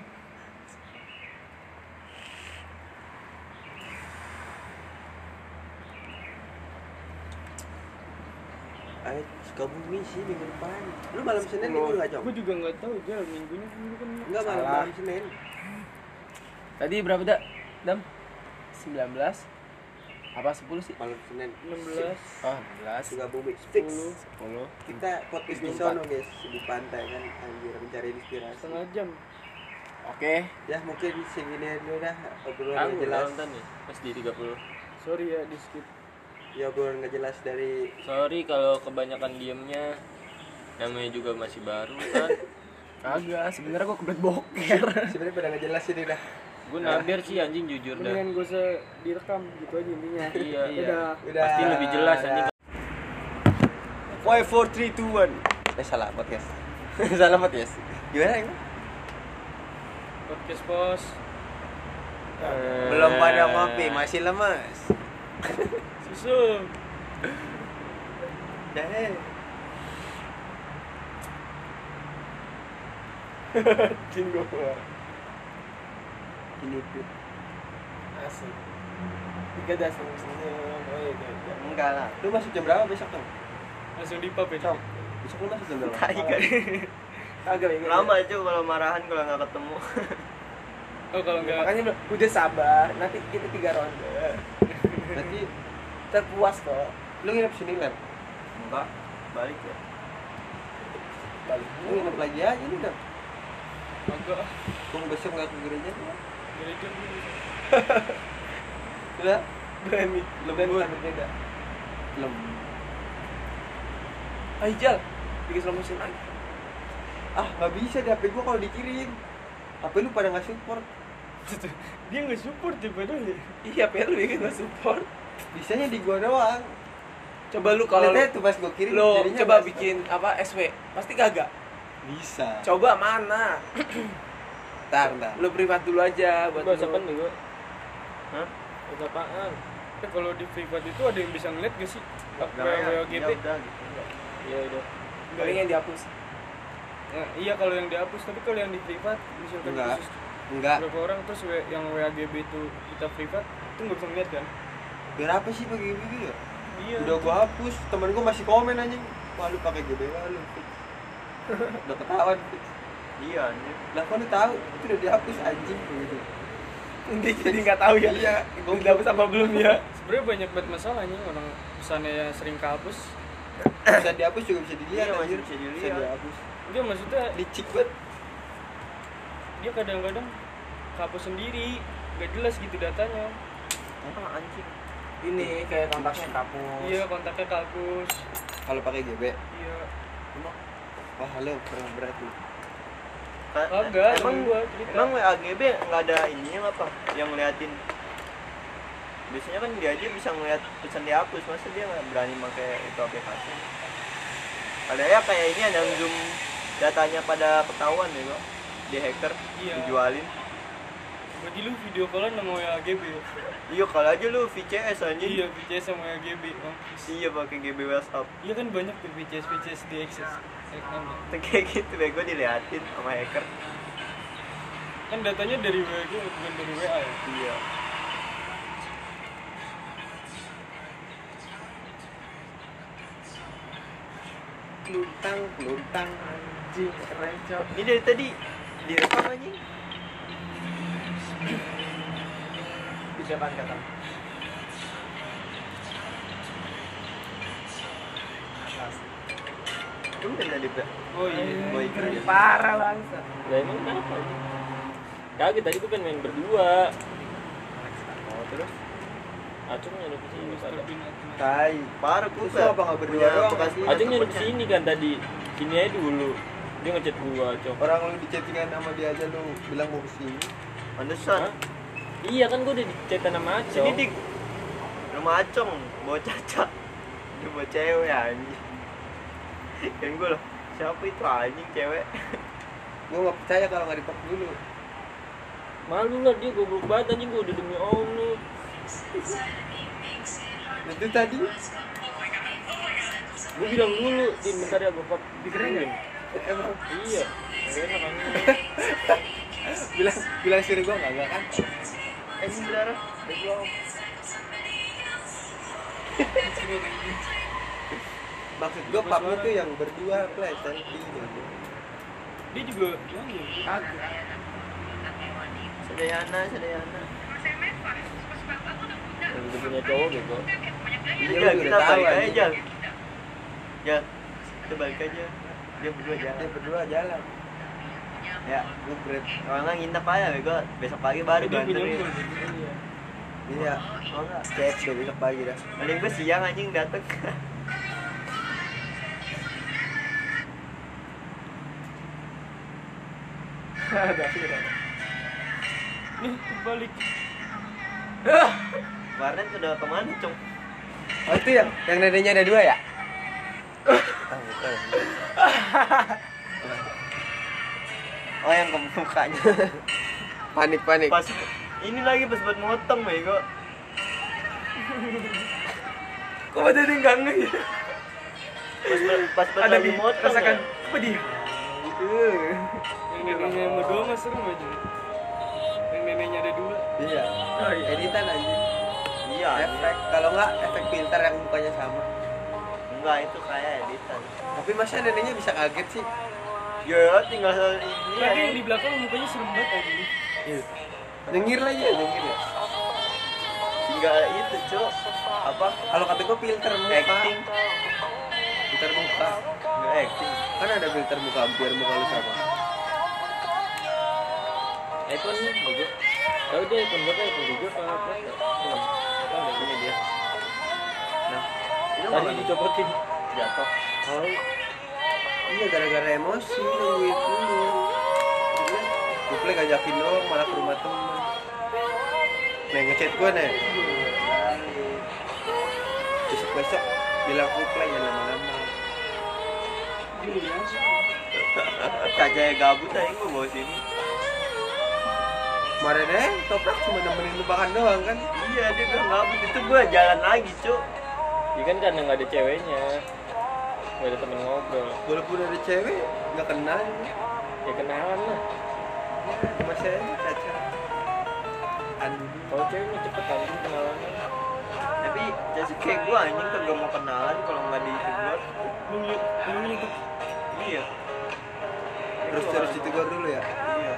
B: Ayo Sukabumi sih minggu depan. Lu malam Senin
A: 10.
B: libur nggak cok?
D: Gua juga enggak tahu jalan minggunya kan.
B: Enggak malam
A: Salah.
B: malam Senin.
A: Tadi berapa dak? Dam? 19. Apa 10 sih?
B: Malam Senin.
D: 16.
A: Oh, 11.
B: Sukabumi fix.
A: 10.
B: Kita podcast di
A: 24.
B: sono guys di pantai kan anjir mencari inspirasi.
D: Setengah jam.
A: Oke.
B: Ya mungkin segini dulu dah obrolan
C: Aku
B: nggak jelas.
C: nonton nih, pas di 30.
D: Sorry ya di skip.
B: Ya obrolan nggak jelas dari
C: Sorry kalau kebanyakan diemnya. Namanya juga masih baru kan.
A: Kagak, sebenarnya gua kebelet boker.
B: sebenarnya pada nggak jelas ini dah.
C: Gue naber sih anjing jujur dah.
D: Mendingan gua usah direkam gitu aja intinya.
C: Iya, iya.
D: Udah.
B: Udah.
C: Pasti lebih jelas
B: Udah.
C: anjing.
B: 5 4 3 2 1. Salah podcast. Salah podcast. Gimana ini?
D: Podcast bos.
B: Belum pada ngopi, masih lemas.
D: Susu.
B: Dah.
A: Cing gua.
B: Ini tuh.
A: Asik. 3 das senyum. Oh iya.
B: Enggak lah. Lu masuk jam berapa besok tuh?
D: Langsung di pub ya.
B: Cok. Besok lu masuk jam berapa?
A: Agak bego.
C: Lama aja kalau marahan kalau nggak ketemu.
D: Oh kalau enggak
A: Makanya udah sabar, nanti kita 3 ronde.
B: Berarti
A: Terpuas kok.
B: lu nginep sini kan?
C: Enggak, balik ya.
A: Balik.
B: Lu nginep lagi aja nih dong.
D: agak
B: Tunggu besok nggak ke gereja ya?
D: gereja dulu.
B: Udah?
A: Berani.
B: Lembur.
A: Beda.
B: Lembur.
A: Ayo Jal, bikin slow motion lagi.
B: Ah, nggak bisa di HP gua kalau dikirim. HP lu pada nggak support.
D: Dia nggak support ya padahal ya.
A: Iya, lu bikin nggak support.
B: Bisanya di gua doang.
A: Coba lu kalau
B: Lihat tuh pas gua kirim.
A: lo
B: jadinya
A: coba
B: nggak
A: bikin apa SW, pasti kagak.
B: bisa.
A: Coba mana?
B: Ntar.
A: Lu privat dulu aja buat
D: Bahasa
A: lu.
D: apa nih gua?
C: Hah?
D: Bahasa apaan? Kalau di privat itu ada yang bisa ngeliat gak sih? WGB.
C: Ya udah gitu.
D: Ya udah.
A: Paling yang dihapus.
D: Nah, iya kalau yang dihapus, tapi kalau yang di privat misalkan
B: Enggak.
D: khusus
B: Enggak.
D: berapa orang terus yang WAGB itu kita privat itu nggak bisa ngeliat kan?
B: Biar apa sih pakai GB ya?
D: Iya.
B: Udah gua hapus, temen gua masih komen anjing. Wah, lu pakai GB wah lu. Fix. Udah ketahuan. Fix.
C: Iya anjir.
B: Lah kok lu tahu? Itu udah dihapus anjing gitu.
A: Jadi nggak tahu ya.
B: Iya,
A: Gua dihapus apa belum ya?
D: Sebenarnya banyak banget masalahnya orang pesannya yang sering kehapus.
B: Bisa dihapus juga bisa dilihat
C: Iya, masih
B: anjir.
C: bisa dilihat.
B: Bisa dihapus.
D: Dia maksudnya
B: Licik banget.
D: dia kadang-kadang kehapus sendiri, gak jelas gitu datanya.
C: Ah anjing.
A: Ini kayak kontaknya kapus.
D: Iya kontaknya kehapus.
B: Kalau pakai GB.
D: Iya.
B: Wah, lu kurang berat lu.
D: Kagak,
C: emang
D: gua cerita.
C: emang WAGB nggak ada ininya apa yang ngeliatin. Biasanya kan dia aja bisa ngeliat pesan dihapus, masa dia nggak berani pakai itu aplikasi. Ada ya kayak ini ada zoom datanya pada ketahuan ya kok di hacker,
D: Iya.
C: dijualin.
D: Berarti lu video callan sama WAGB ya?
C: Iya kalau aja lu VCS anjing.
D: Iya, VCS sama WAGB. Mampus.
C: Iya pakai GB WhatsApp.
D: Iya kan banyak tuh VCS di Access.
C: Kayak gitu bego diliatin sama hacker.
D: Kan datanya dari WAG bukan dari WA ya?
C: Iya.
A: Luntang anjing keren cok.
C: Ini dari tadi direkam anjing.
A: Di depan kata.
C: Udah tadi Pak.
D: Oh iya.
C: Boy kerja.
A: Parah bangsa.
C: Lah emang kenapa? Kagak tadi gue pengen main berdua. Oh terus? Acung nyuruh ke sini
D: Mr.
C: pada.
D: Bean Atma.
B: Tai.
C: Parah gue
B: Terus lu apa nggak berdua doang kan?
C: Acung nyuruh ke sini kan tadi. Sini aja dulu. Dia ngechat gua, Acung.
B: Orang lu di chattingan sama dia aja lu bilang mau kesini.
C: Pantesan. Iya kan gua udah di chatan sama Acung. Sini dik. Rumah Acung, bawa caca. Dia bawa cewek anjing. Kan gua loh, siapa itu anjing cewek?
B: Gua nggak percaya kalau nggak ditok dulu.
C: Malu lah dia goblok banget anjing gua udah demi Allah.
B: Itu tadi
C: Gua bilang dulu, Din bentar ya gua
A: Dikeringin?
B: emang
C: Iya. Enak anjing.
B: bilang sini gua nggak kan?
C: Ini berdarah.
B: Maksud gua pub itu yang berdua play selfie gitu.
D: Dia juga nyanyi.
A: Agak.
C: Sedayana. Udah punya cowok gitu.
B: Iya,
C: Jal,
B: udah
C: kita
B: tahu
C: balik aja,
B: anjing.
C: Jal. Jal, kita balik aja. Dia berdua
B: Dia
C: jalan.
B: berdua jalan.
C: Ya,
B: Ngubret.
C: kalau nggak nginep aja, bego. Besok pagi baru
D: Dia punya
C: gantiin.
D: gol gitu.
B: Iya.
C: Oh enggak.
B: Chat udah besok pagi dah.
C: Paling gue siang anjing dateng.
A: Ada viral.
D: Nih, terbalik.
C: Warnet udah kemana, Cung?
B: Oh itu yang neneknya ada dua ya?
C: bukan. Oh yang ke mukanya.
B: Panik.
C: Pas ini lagi pas buat motong bego.
A: Kok badan enggak nge ya?
C: Pas
A: Ada
C: lagi
A: di
C: motong.
A: rasakan
C: Ya?
A: apa dia? Gitu.
D: Yang neneknya yang berdua mah serem aja. Yang neneknya ada 2.
B: Iya.
A: Oh, iya.
B: Editan anjing.
C: Iya.
B: Efek kalau nggak efek filter yang mukanya sama.
C: Enggak itu kayak editan.
B: Tapi masa neneknya bisa kaget sih?
C: Ya tinggal ini
D: Lagi yang
C: aja.
D: di belakang mukanya serem banget aja.
B: Iya. Nyengir lagi ya, nyengir ya.
C: Tinggal itu cuk. Apa?
B: Kalau kata gue filter muka.
C: Acting.
B: Filter muka.
C: Enggak acting.
B: Kan ada filter muka biar muka lu sama.
E: iPhone nih bego. Tahu dia iPhone berapa iPhone Google apa Plus? Belum. Tahu deh punya dia.
C: Nah, itu
E: Tadi
C: mana?
E: dicopotin.
C: Jatuh.
B: Oh. Iya gara-gara emosi nungguin dulu. Gue ngajakin doang malah ke rumah temen. Nih ngechat gue nih. Besok bilang gue jangan lama-lama.
C: Kajaya gabut aja gua bawa sini.
B: Kemarin Toprak cuma nemenin lu makan doang kan?
C: Iya dia bilang gabut itu gua jalan lagi cuk.
E: Dia kan karena nggak ada ceweknya. Nggak ada temen ngobrol.
B: Walaupun ada cewek nggak kenal.
E: Ya kenalan lah.
B: Masih aja caca.
E: Kalau cewek mah cepet anjing kenalannya.
C: Tapi jadi kayak gua anjing kagak mau kenalan kalau nggak di itu gua.
D: Lu itu
C: Iya.
B: Terus ditegur dulu ya.
C: Iya.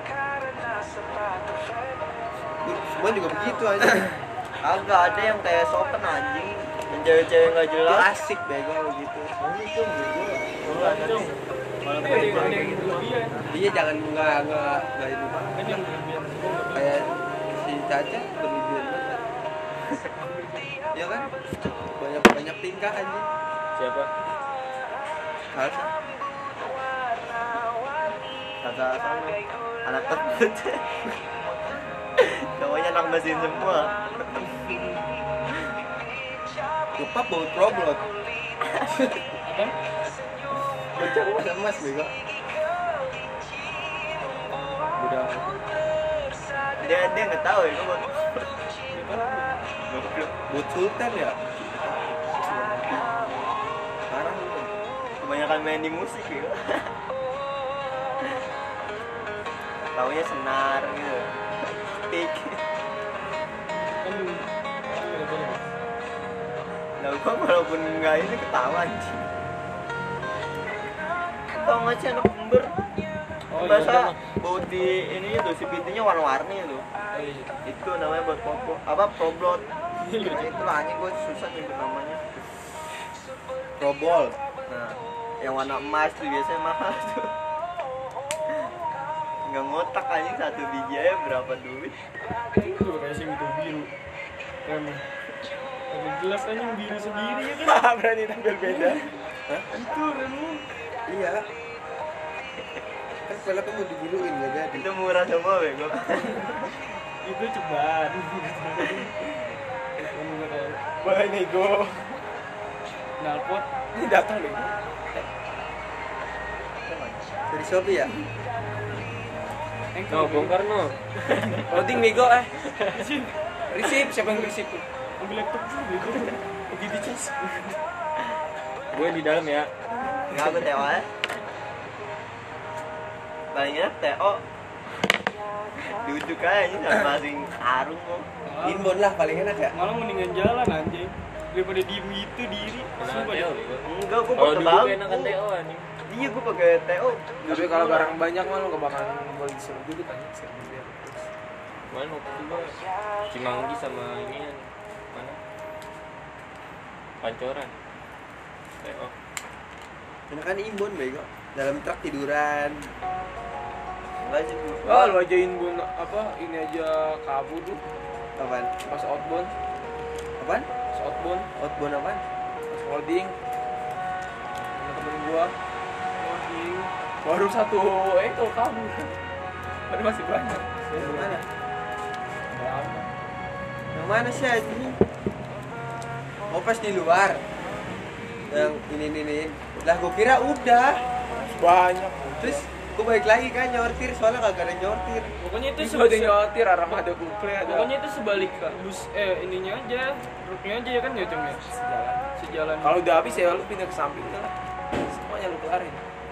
B: Semua juga begitu aja.
C: Agak ada yang kayak sopan anjing. Yang cewek-cewek nggak
B: Itu
C: jelas.
B: asik bego gitu.
C: Itu bego.
E: Enggak dong.
C: Malah
D: ada yang
C: kayak
D: yang berlebihan.
B: Iya jangan nggak itu banget.
D: Kan yang berlebihan.
B: Kayak si Caca berlebihan banget. Ya kan? Banyak tingkah anjing.
E: Siapa?
B: Hal
C: kata sama anak terbut. Cowoknya anak mesin semua.
B: Lupa bawa problem.
D: Apa?
B: Bocah masa emas bego. Udah
C: Dia nggak tahu ya gua.
B: buat sultan ya. Parah lu.
C: Kebanyakan main di musik ya. Taunya senar gitu. Pik.
D: Kan lu.
C: Nah, gua walaupun nggak ini ketawa anjing. Tau nggak sih anak ember?
E: Oh,
C: Bahasa
E: iya,
C: buat di ini tuh si pintunya warna-warni tuh.
D: Oh, iya.
C: Itu namanya buat popo. Apa problot?
D: Iya,
C: Nah, itu lah anjing gua susah nyebut namanya.
B: Probol.
C: Nah, yang warna emas tuh biasanya mahal tuh. Nggak ngotak anjing satu biji aja berapa duit?
D: Itu kayak sing itu biru. Emang. Ada gelas aja yang biru sendiri ya kan?
A: Berani tampil beda.
D: Itu remu.
B: Iya. Kan peleknya mau dibiluin nggak jadi.
C: Itu murah semua bego.
D: Itu ceban.
A: Boleh nego.
D: Nalpot.
A: Ini datang deh.
B: Dari Shopee ya?
E: No, bongkar no.
A: Loading nego Receive, siapa yang receive?
D: Ambil laptop dulu gitu.
A: Begitu cas.
E: Gue di dalam ya.
C: Nggak aku TO aja. Paling enak TO. Duduk aja ini sama masing arung kok.
B: Inbound lah paling enak ya.
D: Malah mendingan jalan anjing daripada diem gitu diri.
E: Kenalan
D: Sumpah
E: Teo
D: deh.
E: bego.
C: Enggak, gua
E: Kalau
C: pakai
E: dulu
C: bangku.
E: enak kan Teo anjing.
C: Iya, gua pakai TO.
A: Tapi kalau barang banyak mah lu gak bakalan boleh disuruh duduk kan.
E: Mana waktu itu gua Cimanggi sama ini kan. Mana? Pancoran. Teo.
B: Enakan inbound bego. Dalam truk tiduran.
C: Enggak sih.
A: Oh, lu ajain bun apa ini aja kabur tuh
B: Apaan?
A: pas outbound,
B: Apaan?
A: pas outbound,
B: Outbound apaan?
A: pas holding. Sama temen gua holding baru satu itu kabur. Ada masih banyak.
B: Yang mana?
A: Berapa?
B: Yang mana sih anjing? Oh pas di luar. yang ini lah gue kira udah
A: Banyak.
B: terus gue balik lagi kan nyortir soalnya kagak ada nyortir
D: Pokoknya itu
A: Terus ada nyotir Armada Couple ada.
D: Pokoknya itu sebalik bus ininya aja, rutenya aja ya kan ya Cong ya. Sejalan.
A: Kalau udah habis ya lu pindah ke samping lah. Semuanya lu kelarin.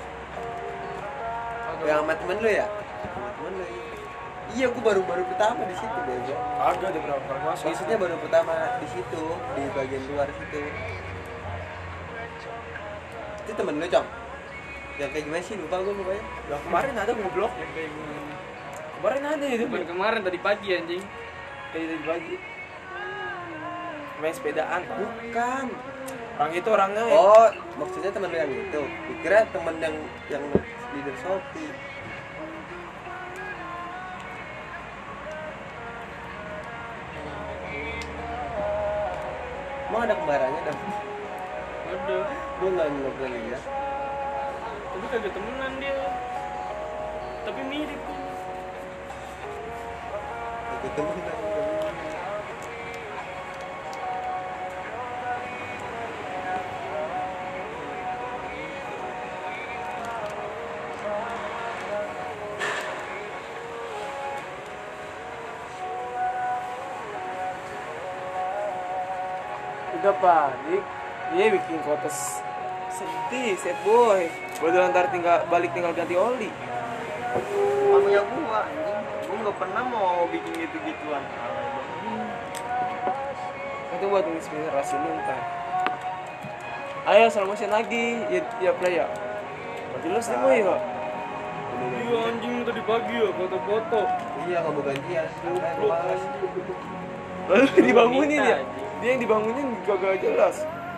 B: yang sama temen lu ya temen lu iya gue baru pertama di situ bego
A: Agak ada berapa kali masuk.
B: maksudnya baru pertama di situ di bagian luar situ itu temen lu Cong yang kayak gimana sih lupa gue mukanya
A: Lah kemarin ada goblok. Kemarin ada itu.
D: Kemarin tadi pagi anjing.
A: Kayak tadi pagi. Main sepedaan.
B: bukan
A: Orang itu orangnya
B: oh maksudnya temen lu yang itu dikira temen yang leader Shopee emang ada kembarannya dong
D: Ada.
B: gue nggak pernah lihat
D: Tapi kagak temenan dia. Tapi mirip.
B: itu temen
A: udah panik. Iya bikin kotes sedih, sad boy. Baru ntar tinggal ganti oli.
C: Namanya gua anjing. Gua nggak pernah mau bikin gitu-gituan.
A: Itu buat inspirasi lu ntar. Ayo slow motion lagi, ya play ya. Berarti lu sih boy ya.
D: Iya anjing tadi pagi ya foto-foto.
B: iya nggak mau gantian lu malas
A: Lalu dibangunin ya. Dia yang dibangunin gak jelas.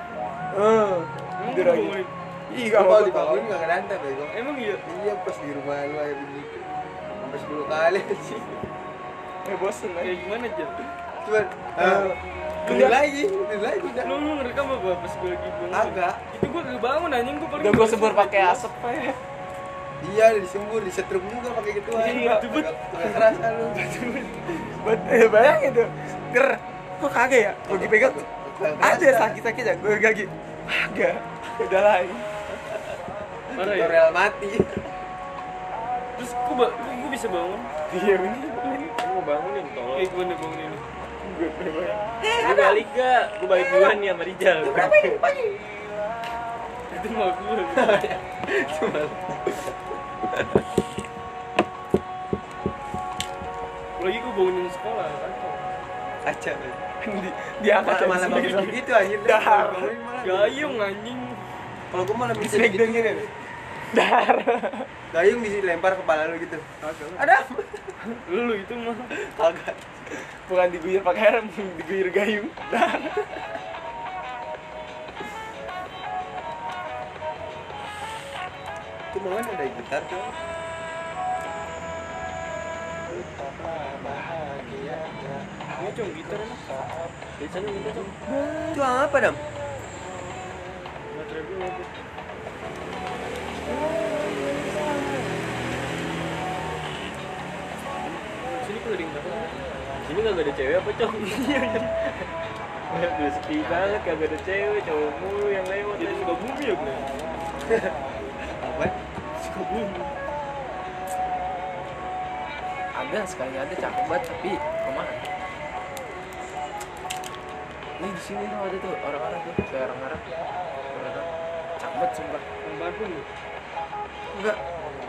A: Tidur lagi. Ih, gak
B: kalau
A: mau
B: dibangunin nggak ngeranta bego
D: Emang iya.
B: iya pas di rumah lu kayak begitu sampai 10 kali sih
A: bosen aja.
D: Kayak gimana aja?
B: cuman tidur lagi udah
D: Lu ngerekam apa pas gue lagi bangun?
B: agak
D: Itu gue kagak bangun anjing gue paling.
A: Udah gue sebur pakai asap ya.
B: iya disembur disetrum juga pakai gituan
A: Iya,
B: nggak kerasa lu
A: Bayangin tuh. Ger. Kok kagak ya? Gue pegang. Ada sakit-sakit ya. Gue gagi. Kagak. Udah lain.
D: Parah ya.
B: tutorial mati
D: Terus gue bisa bangun.
A: Iya ini.
E: Kan mau bangunin tolong.
D: Kayak gimana bangun ini?
A: Gue bayang.
E: Lu balik gak? Gue balik duluan nih sama Rijal.
D: Itu mah gue. Lagi gue bangunin sekolah kantor.
B: kaca
A: Diangkat
B: malah bagus gitu anjir
A: Dahar.
D: Gayung anjing.
B: kalau gue malah bisa
A: Snack dan gini. Dar.
B: gayung dilempar kepala lu gitu ada
D: Lu itu mah.
B: kagak
A: Bukan diguyur pakai air, diguyur gayung. Dar.
B: itu mau ada gitar tuh
D: Ini cuma gitar enak.
E: Di sana minta dong.
B: itu apa dam
D: Baterai gue lagi. Sini keliling berapa?
E: Sini kagak ada cewek apa cong? Udah sepi banget kagak ada cewek, cowok mulu yang lewat.
D: Jadi suka bumi ya gue.
B: apa
D: Suka bumi.
A: Ada sekali ada cakep banget tapi kemana? Nih di sini tuh ada tuh orang-orang tuh kayak orang-orang. Orang-orang. Cakep banget sumpah.
D: Yang Bandung ya?
A: Enggak.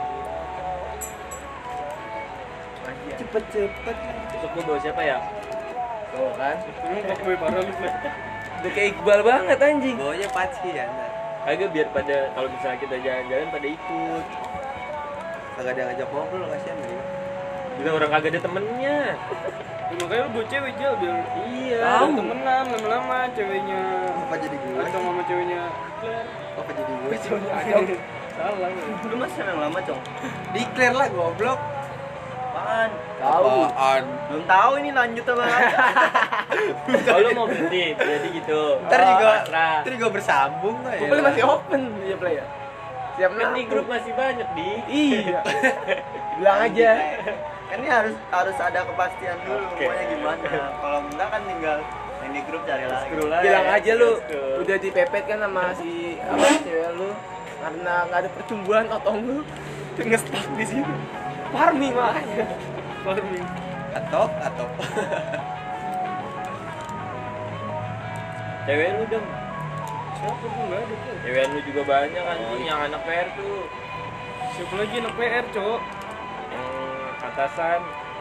B: cepet
E: Besok gue bawa siapa ya?
A: Tuh kan.
D: Emang kok gue parah lu gue.
A: Udah kayak Iqbal banget anjing.
B: bawanya paci ya nah.
E: Kagak biar pada kalau misalnya kita jalan-jalan pada ikut.
B: kagak ada yang ngajak ngobrol kasihan nih
E: Bila orang kagak ada temennya.
D: Ya, makanya lu bawa cewek Jal biar
E: Iya.
D: tahu temenan lama-lama ceweknya.
B: apa jadi gue
D: Atau mama ceweknya.
B: apa jadi gue
D: Salah.
C: Lu masih yang lama, Cong?
B: declare lah goblok
C: Apaan?
B: apaan
C: Belum tahu ini lanjut apa enggak.
E: Oh lu mau berhenti, jadi gitu.
B: ntar juga
E: pasrah.
B: ntar juga bersambung lah ya
A: Play masih open dia play ya. Siap
E: Kan di grup masih banyak di.
A: Iya. Bilang aja.
C: Kan ini harus ada kepastian dulu
E: Oke.
C: pokoknya gimana. Kalau enggak kan tinggal Yang di grup cari lagi.
E: Scroll aja.
A: Bilang aja lu
E: Scroll.
A: udah dipepet kan sama si apa cewek lu karena nggak ada pertumbuhan otong lu nge-stuck di sini. Farming makanya. Farming.
B: atau
E: Cewek lu dong.
D: Siapa tuh nggak ada tuh?
E: Cewek lu juga banyak anjing yang anak PR tuh.
D: Siapa lagi anak PR cowok?
E: Yang atasan.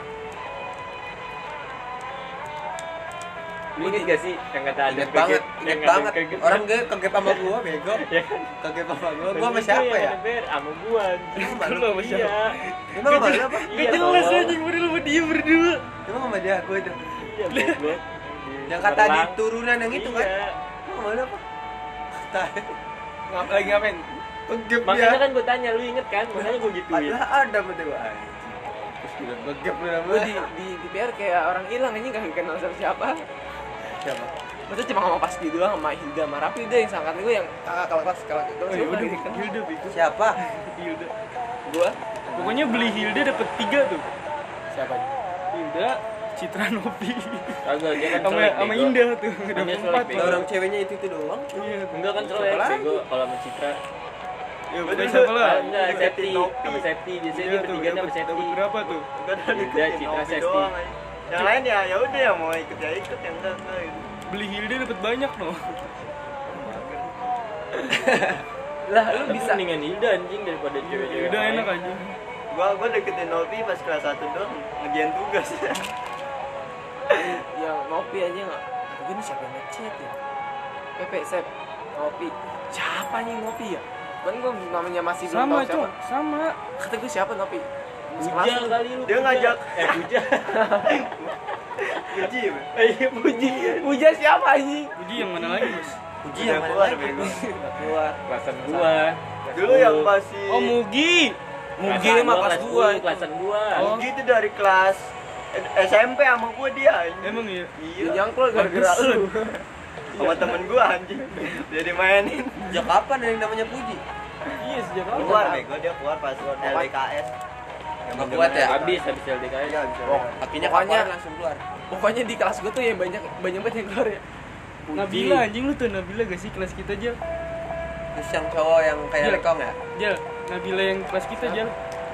E: Lu inget gak sih yang kata ada
B: inget banget orang gue kegep sama gua bego
E: Ya kan?
B: kegep sama gua sama siapa ya
E: Sama gua anjing.
B: Sama lu?
E: Lu iya.
B: emang sama lu apa
E: Iya,
D: jelas
E: tolong.
D: anjing bener sama dia berdua.
B: emang sama dia gua itu
E: Iya, goblok.
B: yang kata di
E: Perlang.
B: turunan yang itu kan
E: Iya.
B: emang sama lu apa
A: Lagi ngapain?
B: kegep
E: Makanya
B: dia
E: kan gua tanya, lu inget kan? Makanya gua gituin.
B: padahal ada betul gua terus bilang kegep lu
A: Lu
B: namanya
A: di PR kayak orang hilang anjing gak kenal siapa.
B: siapa
A: Maksudnya cuma sama Pasti doang sama Hilda sama Rapi udah yang sangkat gue yang kakak kelas
D: Oh iya udah Hilda begitu.
B: siapa
D: Hilda.
A: Gua
D: Pokoknya beli Hilda dapat 3 tuh.
A: siapa?
D: Hilda, Citra Novi.
E: Kagak, dia kan
D: Sama
E: selek,
D: sama
E: bego.
D: Indah tuh.
E: Dia
D: Dapat
E: selek,
D: 4.
E: bego.
B: orang ceweknya itu doang
D: Iya.
E: Enggak kan selek,
B: Siapa lagi?
E: bego. Kalau sama Citra.
D: Ya udah siapa lah?
E: Ah, enggak, Septi.
C: Nopi.
E: Sama Septi. Biasanya
D: Iya
E: dia
D: tuh,
E: bertiga sama
D: dapat
E: Septi.
D: berapa tuh?
C: Gua udah
E: Hilda,
C: deketin
E: Citra,
C: Novi
E: Sesti.
C: doang aja. Yang lain ya udah yang mau ikut ya ikut yang enggak gitu.
D: Beli Hilda dapat banyak loh.
A: Lah lu
E: Tapi
A: bisa
E: mendingan Hilda anjing daripada cewek-cewek.
D: Hilda
E: lain.
D: enak aja.
C: Gua deketin Novi pas kelas 1 doang ngerjain tugas.
A: yang ngopi aja nggak? Gue ini siapa yang ngechat ya? Pepe Sep ngopi. Siapa nih ngopi ya? Kan gue namanya masih belum
D: Sama,
A: tahu siapa.
D: Cok. Sama.
A: Kata gue siapa ngopi?
E: Puja kali lu.
C: Dia
E: Puja.
C: ngajak.
E: Puja.
C: Puji.
E: Iya, Puji.
A: Puja siapa anjing?
D: Puji yang mana lagi, Bos?
B: Puji
C: Udah
B: yang mana
C: keluar,
B: lagi
C: bego.
A: Udah keluar.
E: Kelasan gua.
C: Dulu yang masih
D: Oh, Mugi.
A: Mugi
E: Kelasan
A: mah
E: gua,
A: pas
E: kelas
A: gua.
E: 10, kelasan gua.
D: Oh.
C: Mugi itu dari kelas SMP sama gua dia anjing.
D: Emang iya.
C: Iya.
A: Yang keluar gara-gara lu.
C: Sama temen gua anjing. Dia dimainin.
B: sejak kapan ada yang namanya Puji
D: Iya, sejak
C: Keluar
D: kapan?
C: bego dia keluar pas LDKS.
B: nggak kuat ya
E: Habis LDKS.
C: Iya, bisa.
A: Oh,
B: kakinya
A: pokoknya
B: kapan langsung keluar
A: pokoknya di kelas gue tuh yang banyak banget yang keluar ya.
D: Nabila anjing lu tuh Nabila gak sih kelas kita Jal?
B: terus yang cowok yang kayak
D: Iya.
B: lekong ya
D: Jal, Nabila yang kelas kita Jal.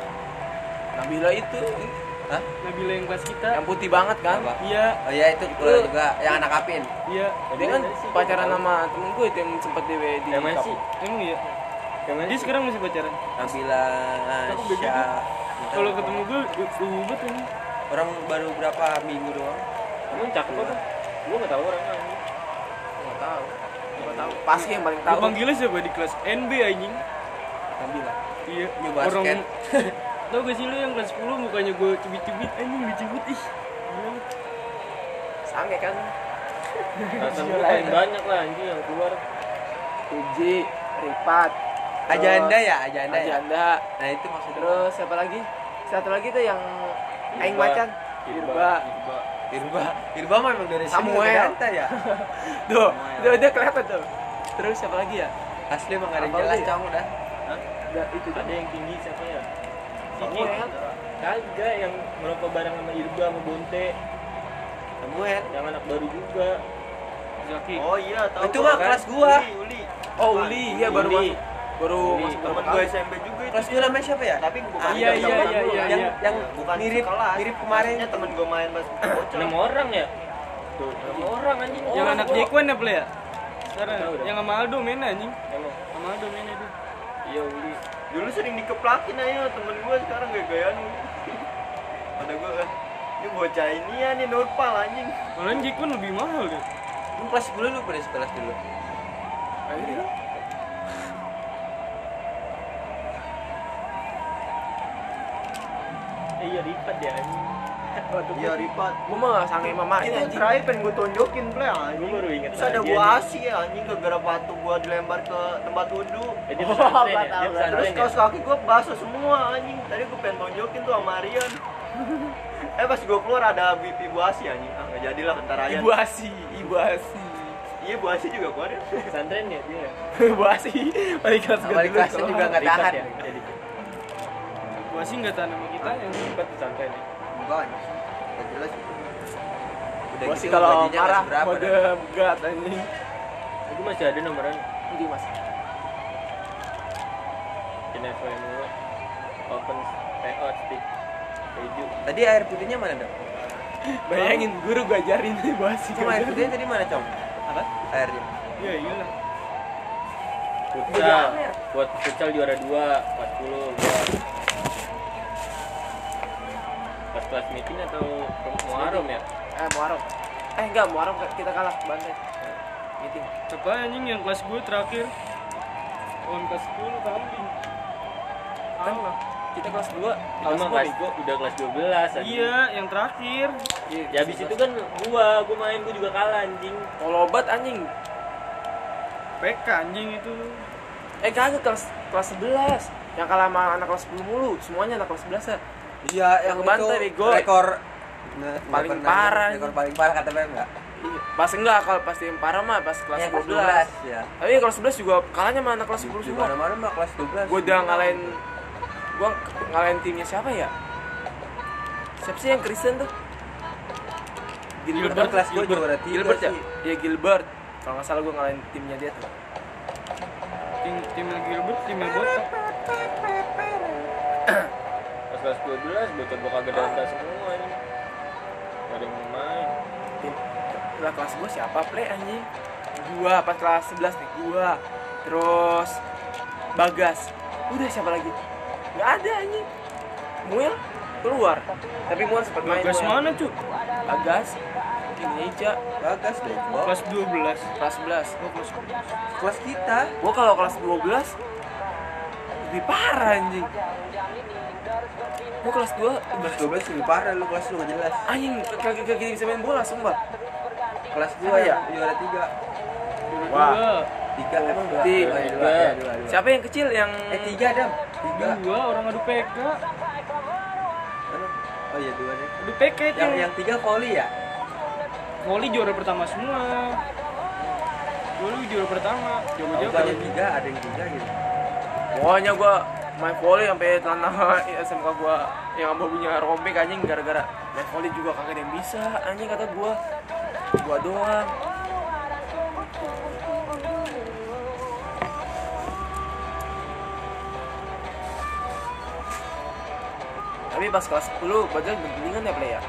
A: Nabila itu
B: hah
D: Nabila yang kelas kita.
A: yang putih banget kan?
B: apa
D: Iya,
B: oh iya itu keluar juga yang anak apin
D: iya.
A: Dia kan pacaran sama temen gue itu yang sempet di
E: Yang mana sih?
D: Emang iya.
E: Yang mana
D: Dia
E: sih?
D: sekarang masih pacaran.
B: Nabila
D: Aku bego.
B: Nasya
D: Kalau ketemu gue ribet ini.
B: orang baru berapa minggu doang
E: Emang cakep apa? Gua enggak tahu orangnya anjing.
A: Nggak tahu. Nggak tahu. Pasti yang paling
D: Gue
A: tahu.
D: panggilnya siapa di kelas NB anjing.
A: Nabila.
D: Iya.
B: New basket.
D: Tau gak sih lu yang kelas 10 mukanya gue cubit-cubit anjing dicubit ih. Gila.
A: Sange kan?
E: Kelasan gua paling banyak lah anjing yang keluar.
A: Uji, Ripat,
B: Ajanda ya Ajanda ya
A: Ajanda.
B: nah itu maksudnya
A: Terus siapa lagi? Satu lagi tuh yang Aing
E: Irba.
A: macan. Irba.
B: Irba mah emang dari sini
A: Samuel.
B: udah ganteng ya
A: Tuh, udah kelihatan tuh. Terus siapa lagi ya?
B: asli emang gak ada yang
A: Apa
B: jelas
A: lagi?
B: kamu dah
A: Udah itu tuh.
E: Ada yang tinggi siapa ya?
A: Samuel.
E: Kagak yang merokok bareng sama Irba sama Bonte.
B: Samuel
E: Yang anak baru juga.
D: Zaki.
C: Oh iya, tahu.
B: Itu
C: gua
B: mah
C: kan.
B: kelas gua.
C: Uli.
A: Oh, Uli, iya baru
E: Uli.
A: masuk. Baru
E: Uli.
A: masuk
C: Temen
A: berapa
C: gua
A: kali?
C: SMP juga itu.
B: kelas dua namanya siapa ya
C: Tapi bukan
D: Iya,
C: yang
D: iya,
C: sama
D: iya,
C: gua.
D: iya,
B: yang
D: iya.
B: yang
C: Bukan
B: mirip
C: sekelas.
B: mirip kemarin
C: Nya temen gua main pas bocah.
E: 6 orang ya? Tuh, 6 orang anjing.
D: Yang
E: Orang
D: anak
E: gua.
D: Jekwan apa ya? Sekarang
E: Tahu dah.
D: yang sama Aldo main anjing.
E: Emang.
D: Sama Aldo main itu.
E: Iya Uli.
C: Dulu sering dikeplakin aja temen gua, sekarang gaya-gayaan Uli. Kata gua ini bocah ini ya nih Nurpal anjing.
D: Malah Jekwan lebih mahal deh.
B: lu kelas 10 lu pada sekolah dulu
A: Ayo.
E: Iya Ripat ya anjing.
C: Iya Ripat.
A: Gua mah sange mamanya
C: Itu
A: anjing.
C: terakhir pengen gua tonjokin play anjing.
E: Gua baru inget
C: Terus ada
E: lagi,
C: gua
E: anjing.
C: asi ya anjing gara-gara batu gua dilempar ke tempat wudhu.
E: Dia
A: Oh,
E: pesantren ya?
A: nggak tahu.
E: Dia
C: Terus
E: pesantren ya?
C: kaos kaki gua basah semua anjing. Tadi gua pengen tonjokin tuh sama Rian. Pas gua keluar ada BP Bu Asi anjing. Ah, enggak jadilah entar aja.
A: Ibu Asi, Ibu Asi.
C: Iya Bu Asi juga keluar ya.
E: Pesantren ya dia.
A: Ibu Asi. Balik kelas gua
B: Balik
A: dulu
B: kelasnya
A: kalau-
B: juga nggak
E: Ripat
B: tahan
E: ya? Jadi
D: Gua sih enggak tahan sama kita yang
E: Ripat pesantren ya.
C: Enggak anjing. Enggak jelas.
B: Udah
A: Gua sih
B: gitu
A: kalau
B: gajinya nggak
A: marah
B: seberapa
A: mode
B: dah.
A: begat anjing.
E: Aku masih ada nomoran.
A: Jadi Mas.
E: Kinevo mulu. Open payout stick. Keju.
B: Tadi air putihnya mana dong?
A: Bayangin guru gua ajarin nih bahas
B: Cuma air putihnya tadi mana com?
A: Apa?
B: Airnya.
D: Iya iyalah.
E: Futsal. Buat futsal juara 2 kelas 10 gua. Pas kelas meeting atau Muharram ya?
A: Muharram. Enggak, Muharram kita kalah bantai. Meeting.
D: Siapa anjing yang kelas gue terakhir? Lawan kelas 10 kambing.
A: Kan kita kelas 2,
E: Itu mah kelas gua udah kelas 12 anjing.
D: Iya, yang terakhir.
E: Ya habis itu kan gua main gua juga kalah anjing.
A: Tolobat anjing.
D: PK anjing itu.
A: Kagak kelas 11. Yang kalah sama anak kelas 10 mulu, semuanya anak kelas 11 ya.
B: Iya, yang
A: kebantai,
B: itu
A: bego.
B: rekor
A: Paling
B: nggak
A: parah.
B: Rekor paling parah kata Bem enggak?
A: Iya. Pas enggak kalau pasti yang parah mah pas kelas
B: Iya,
A: 12.
B: ya.
A: Tapi kelas 11 juga kalahnya sama anak kelas 10
B: Di
A: semua.
B: mana-mana mah kelas 12.
A: Gua udah ngalahin timnya siapa ya? Siapa sih yang Kristen tuh?
B: Gilbert kelas gua juara 3.
A: Gilbert ya? Iya Gilbert. Kalau nggak salah gua ngalahin timnya dia tuh.
D: Tim Gilbert, timnya botak.
E: Pas kelas 12 bocah gua kagak danda semua anjing. Gak ada yang mau main.
A: Lah kelas gua siapa play anjing? Gua pas kelas 11 nih gua. Terus Bagas. Udah siapa lagi? Nggak ada anjing. Muel keluar. Tapi Muel sempat main.
D: Bagas
A: Muel.
D: mana, Cuk?
A: Bagas. Indonesia
B: Bagas bego.
D: Kelas 12.
A: kelas 11.
B: Kelas kita.
A: Gua kalau kelas 12 lebih parah anjing. Gua kelas 2
B: Kelas 12 lebih parah lu, kelas lu enggak jelas.
A: anjing kagak bisa main bola sumpah.
B: Kelas gua
A: Apa
B: ya
A: ya?
B: juara 3.
A: Wah.
B: 3 emang dua.
A: Tiga.
B: Oh, iya, dua.
A: Siapa yang kecil yang
B: 3 Dam. 3.
D: Dua orang adu PK.
B: Oh iya 2 deh.
D: Adu PK itu.
B: Yang 3 volley ya?
D: Volley juara pertama semua. Volley juara pertama. Jago-jago.
B: Bukannya 3, ada yang 3 gitu.
A: pokoknya gua main volley sampai tanah SMK gua yang babunya robek anjing gara-gara main volley juga kagak ada yang bisa anjing kata gua doang. Tapi pas kelas 10 badan bergelingan ya play ya.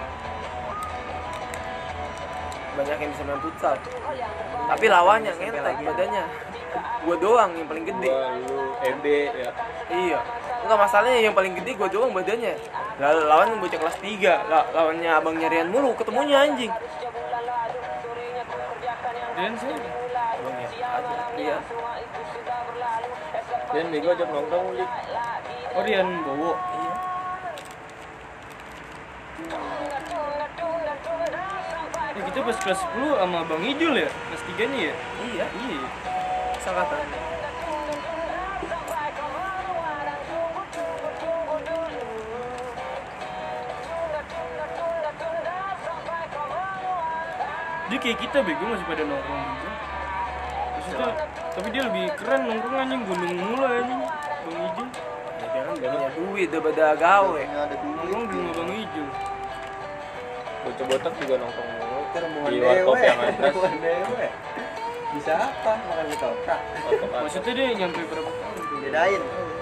A: Banyak yang bisa main futsal. Tapi lawannya ngentek badannya. Gua doang yang paling gede.
E: Gua lu EB ya.
A: Iya. Enggak masalahnya yang paling gede gua doang badannya. Lawan bocah kelas 3, lawannya abangnya Rian mulu ketemunya anjing.
D: Dan sih.
A: Abangnya ada. Iya.
E: Dan bego ajak nongkrong Lik.
D: Orian Bowo.
A: Iya.
D: Ya kita pas kelas 10 sama Bang Ijul ya, kelas 3-nya ya?
A: Iya.
D: Iya.
A: Sangkatan.
D: Dia kayak kita bego masih pada nongkrong gitu. Maksudnya, tapi dia lebih keren nongkrong anjing, gunung mulu anjing. Bang Ijul.
A: Ya, dia kan punya duit daripada gawe.
C: Ada duit.
D: Nongkrong di rumah Bang Ijul.
E: Bocah botak juga nongkrong mulu.
B: Termuan
E: Di warkop yang atas.
B: Termuan dewe. Bisa apa? Makan mie ketoprak.
E: Warkop atas.
D: Maksudnya dia nyampe berapa tahun tuh?
C: Bedain.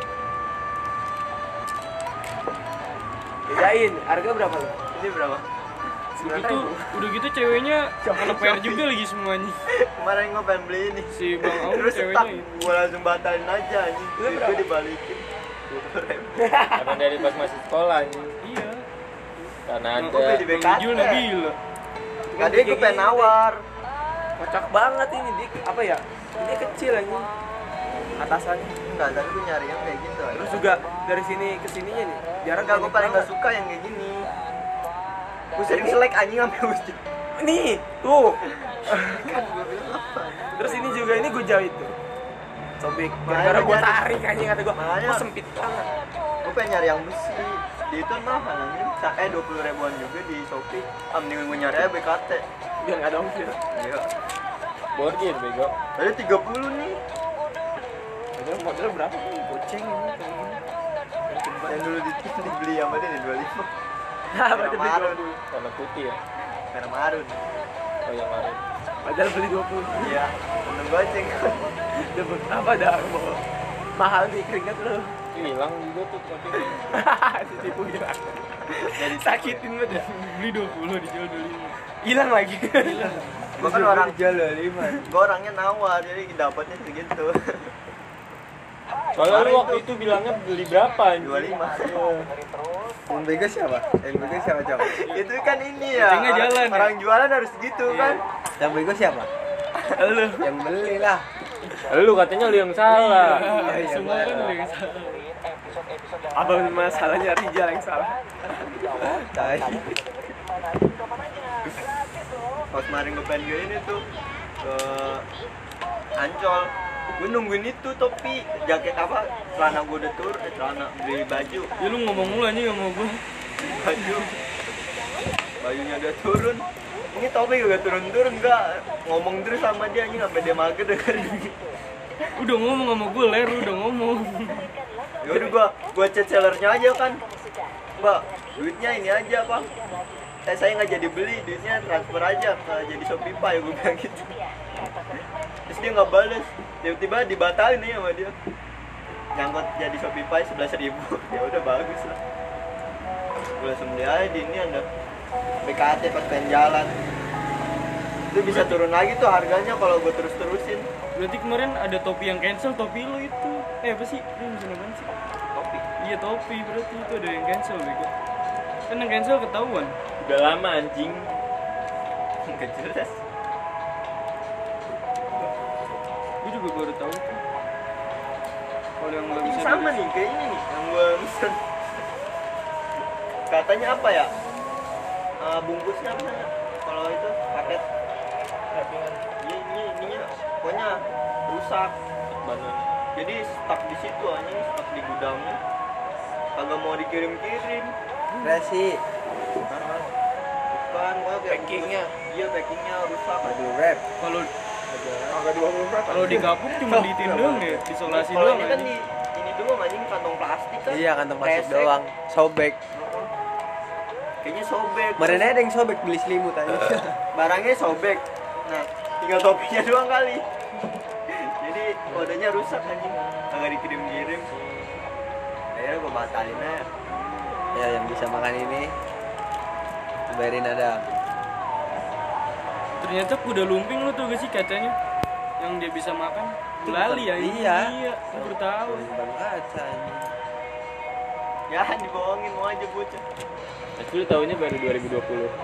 A: Bedain, harga berapa lu?
C: Ini berapa?
D: Udah gitu, udah gitu ceweknya anak PR juga lagi semuanya.
C: Kemarin gue pengen beli ini.
D: Si Bang Aung
C: Terus
D: ceweknya
C: stuck.
D: itu.
C: Gue langsung batalin aja anjing. Terus gue dibalikin. 20.000.
E: Karena dari pas masih sekolah anjing.
D: Iya.
E: Karena
C: Gue
E: ada
C: beli di
D: Bang
C: BKT.
D: Ijul nabila.
C: Tadi gue pengen nawar.
A: Kocak banget ini dia apa ya? Dia kecil anjing. Atasannya.
C: Enggak, tapi gue nyari yang kayak gitu.
A: Terus juga dari sini ke sininya nih. Jarang
C: Enggak, gue paling gak suka yang kayak gini. Gue sering selek anjing sampai ujung.
A: Nih, tuh.
C: Kan gue bilang apa?
A: Terus ini juga ini gue jahit tuh. Sobek. Gara-gara gue tarik anjing kata gue.
C: Makanya.
A: Kok sempit banget.
C: Gue pengen nyari yang besi. Di itu mahal anjing. Caknya 20.000-an juga di Shopee. Mending gue nyari aja BKT.
A: Biar nggak ada ongkir.
C: Iya.
E: borgir bego.
C: Tadi 30 nih.
A: Padahal modalnya berapa nih? Goceng ini kayak gini.
C: Yang dulu dibeli sama dia nih 25.
A: Nah,
C: Merah marun.
E: Warna putih ya.
C: Merah marun.
E: Oh yang lain.
A: Padahal beli 20.
C: Iya, untung goceng.
A: Dapat apa dah? Mahal nih keringat lo.
E: Hilang juga tuh tapi
A: Ditipu hilang. Jadi sakitin banget.
D: Beli 20 dijual 25.
A: Hilang lagi.
C: Gua kan orang
B: jual 5.
C: gua orangnya nawar jadi dapatnya segitu.
E: soalnya lu waktu itu bilangnya beli berapa anjing?
C: 25.
B: Yang bego siapa? Yang bego siapa coba?
C: Itu kan ini ya.
D: Gocengnya jalan ya?
C: Orang jualan harus gitu kan.
B: Yang bego siapa?
A: Lu.
B: Yang beli lah.
E: Lu katanya lu yang salah.
B: Iya,
D: Semua kan
B: Bang.
D: udah yang salah.
A: Apa masalahnya Rijal yang salah?
B: Tai.
C: Pas kemarin gue pengen ini tuh ke Ancol, gue nungguin itu topi, jaket apa, celana gue udah turun, celana beli baju,
D: Ya lu ngomong mulu anjing sama gua.
C: bajunya udah turun, ini topi gak turun-turun, gak ngomong terus sama dia, ini sampai dia mager dengerin.
D: Udah ngomong sama gua, Ler, udah ngomong.
C: Ya udah gua chat sellernya aja kan, Mbak, duitnya ini aja Pak. Saya nggak jadi beli, duitnya transfer aja ke jadi Shopify, gue bilang gitu. Terus dia nggak bales, tiba-tiba dibatalin aja sama dia. Nyangkut jadi Shopify 11.000, ya udah bagus lah. Gue langsung beli aja di ini ada BKT pas pengen jalan. Itu bisa turun lagi tuh harganya kalau gue terus-terusin.
D: Berarti kemarin ada topi yang cancel, topi lo itu. Apa sih? Lu bisa ngapain sih?
C: Topi.
D: Iya topi, berarti itu ada yang cancel bego. Kan yang cancel ketahuan.
E: Udah lama anjing.
C: Nggak jelas.
D: Gue juga baru tahu tuh. Kalau yang nggak
C: Ini
D: bisa
C: sama nih kayaknya nih yang gue pesen. Katanya apa ya? Bungkusnya apa namanya? Kalau itu paket ininya pokoknya rusak.
E: Banan.
C: Jadi stuck di situ aja, stuck di gudangnya. Kagak mau dikirim-kirim.
B: Resi.
C: Bukan, gua kayak
A: Packingnya.
C: Iya, packingnya rusak.
B: Aduh, rap.
D: kalau
A: Angka 20 berapa?
D: kalau digabung cuma diitin doang ya, isolasi
C: Kalau
D: doang.
C: ini kan
D: anjing.
C: di ini doang anjing kantong plastik kan.
B: Iya, kantong plastik
C: Kresek.
B: doang. Sobek.
C: Kayaknya sobek.
B: Kemarin ada yang sobek beli selimut aja.
C: Barangnya sobek. Nah, tinggal topinya doang kali. Jadi kodenya rusak anjing. Kagak dikirim-kirim. Akhirnya gua batalin aja.
B: Ya, yang bisa makan ini bayarin ada.
D: Ternyata kuda lumping lu tuh gak sih kacanya? Yang dia bisa makan. Lali ya.
B: Iya.
D: Iya, lu baru tahu.
B: Bang kaca ini.
C: Ya, dibohongin mau aja bocah.
E: Aku lu tahunya baru 2020.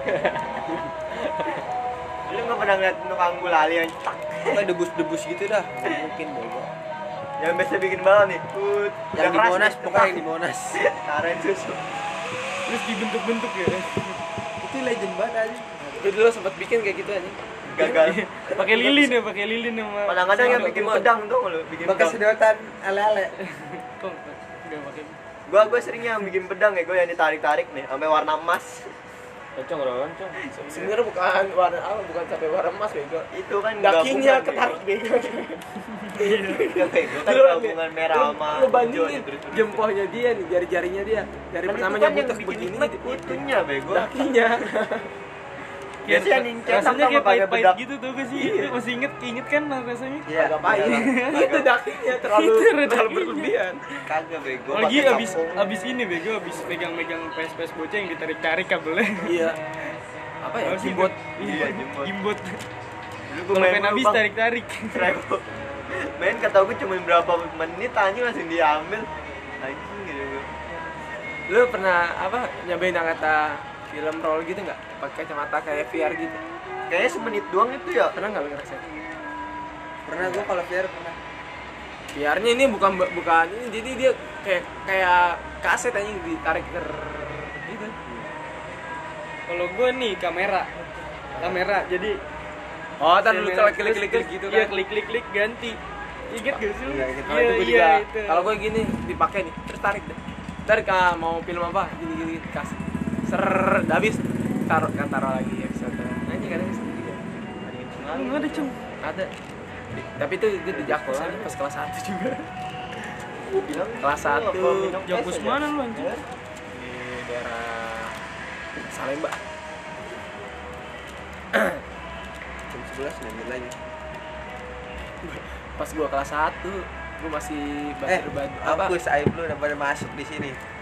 C: Lu nggak pernah ngeliat tukang gulali yang tak
B: Kayak debus-debus gitu dah. Nggak mungkin bego.
C: yang biasa bikin balon nih.
B: Yang di Monas, pokoknya yang di Monas.
C: Taruhin susu.
D: Terus dibentuk-bentuk ya.
B: Itu legend banget aja.
A: Gue dulu sempat bikin kayak gitu aja.
C: Gagal.
D: Pakai lilin ya, pakai lilin sama.
C: Kadang-kadang yang bikin pedang tuh lu, bikin
B: Bekas
C: pedang.
B: sedotan ale-ale.
D: Kok enggak pakai.
C: Gua sering yang bikin pedang ya, gua yang ditarik-tarik nih sampai warna emas.
E: Loncong roncong.
A: Sebenarnya bukan warna apa, bukan sampai warna emas bego.
C: Itu kan
A: Dakinya
C: gabungan,
A: ketarik bego.
C: Iya, bego kan gabungan merah sama
A: Lu bandingin
C: hijau, terus-terus.
A: jempolnya dia nih, jari-jarinya dia. Jari
C: Kan itu
A: pertamanya
C: kan yang
A: butek
C: bikin
A: begini
C: nikmat
A: nih.
C: itunya bego.
A: Dakinya.
C: Biasanya yang cetak
D: rasanya
C: sama
D: kayak
C: pakai
D: pahit-pahit
C: bedak.
D: gitu tuh gak sih? Itu masih inget kan rasanya?
C: Iya,
A: Agak pahit. Itu dakinya terlalu
D: Itu
A: terlalu
D: dakinya.
A: berlebihan.
C: Kagak bego.
D: Lagi
C: pakai
D: abis
C: kampung.
D: ini bego, abis megang-megang PS bocah yang ditarik-tarik kabelnya.
A: Iya. Apa ya?
D: Apa sih,
A: Jimbot.
C: Iya, jimbot.
D: Gimbot.
C: Dulu gua
D: Kalau
C: main
D: pengen
C: dulu,
D: habis
C: Bang.
D: tarik-tarik.
C: Seribu. Main kata gue cuma berapa menit anjing langsung diambil. Anjing gitu gua.
A: Lu pernah apa nyobain yang kata film roll gitu nggak? Pakai kacamata kayak VR gitu.
C: Kayaknya semenit doang itu ya.
A: Pernah nggak lu ngerasain?
B: Pernah gua kalau VR pernah.
A: VR-nya ini bukan ini, jadi dia kayak kaset aja ditarik gitu.
D: Kalau gue nih kamera, jadi
A: Oh, tar lu
D: kamera,
A: klik
D: terus-
A: gitu
D: Iya,
A: kan.
D: klik ganti. Ingat gak sih lu?
B: Iya, ingat.
A: Kalau itu gue juga.
D: itu.
A: Kalau gue gini dipakai nih, terus tarik deh. Tarik mau film apa? Gini kasih. Ser, udah habis taruh lagi episode. Nanti kadang gitu.
D: Enggak ada cung.
A: Ada. Tapi itu gue di Jakpus aja pas kelas 1 juga.
C: Gua bilang
A: Kelas
C: lu apa,
A: 1
C: minum es
D: Jakpus
C: aja?
D: mana lu anjing?
A: Di daerah Salemba.
B: ngambil lagi.
A: Pas gua kelas 1 gua masih belajar
B: Hapus aib lu udah pada masuk di sini.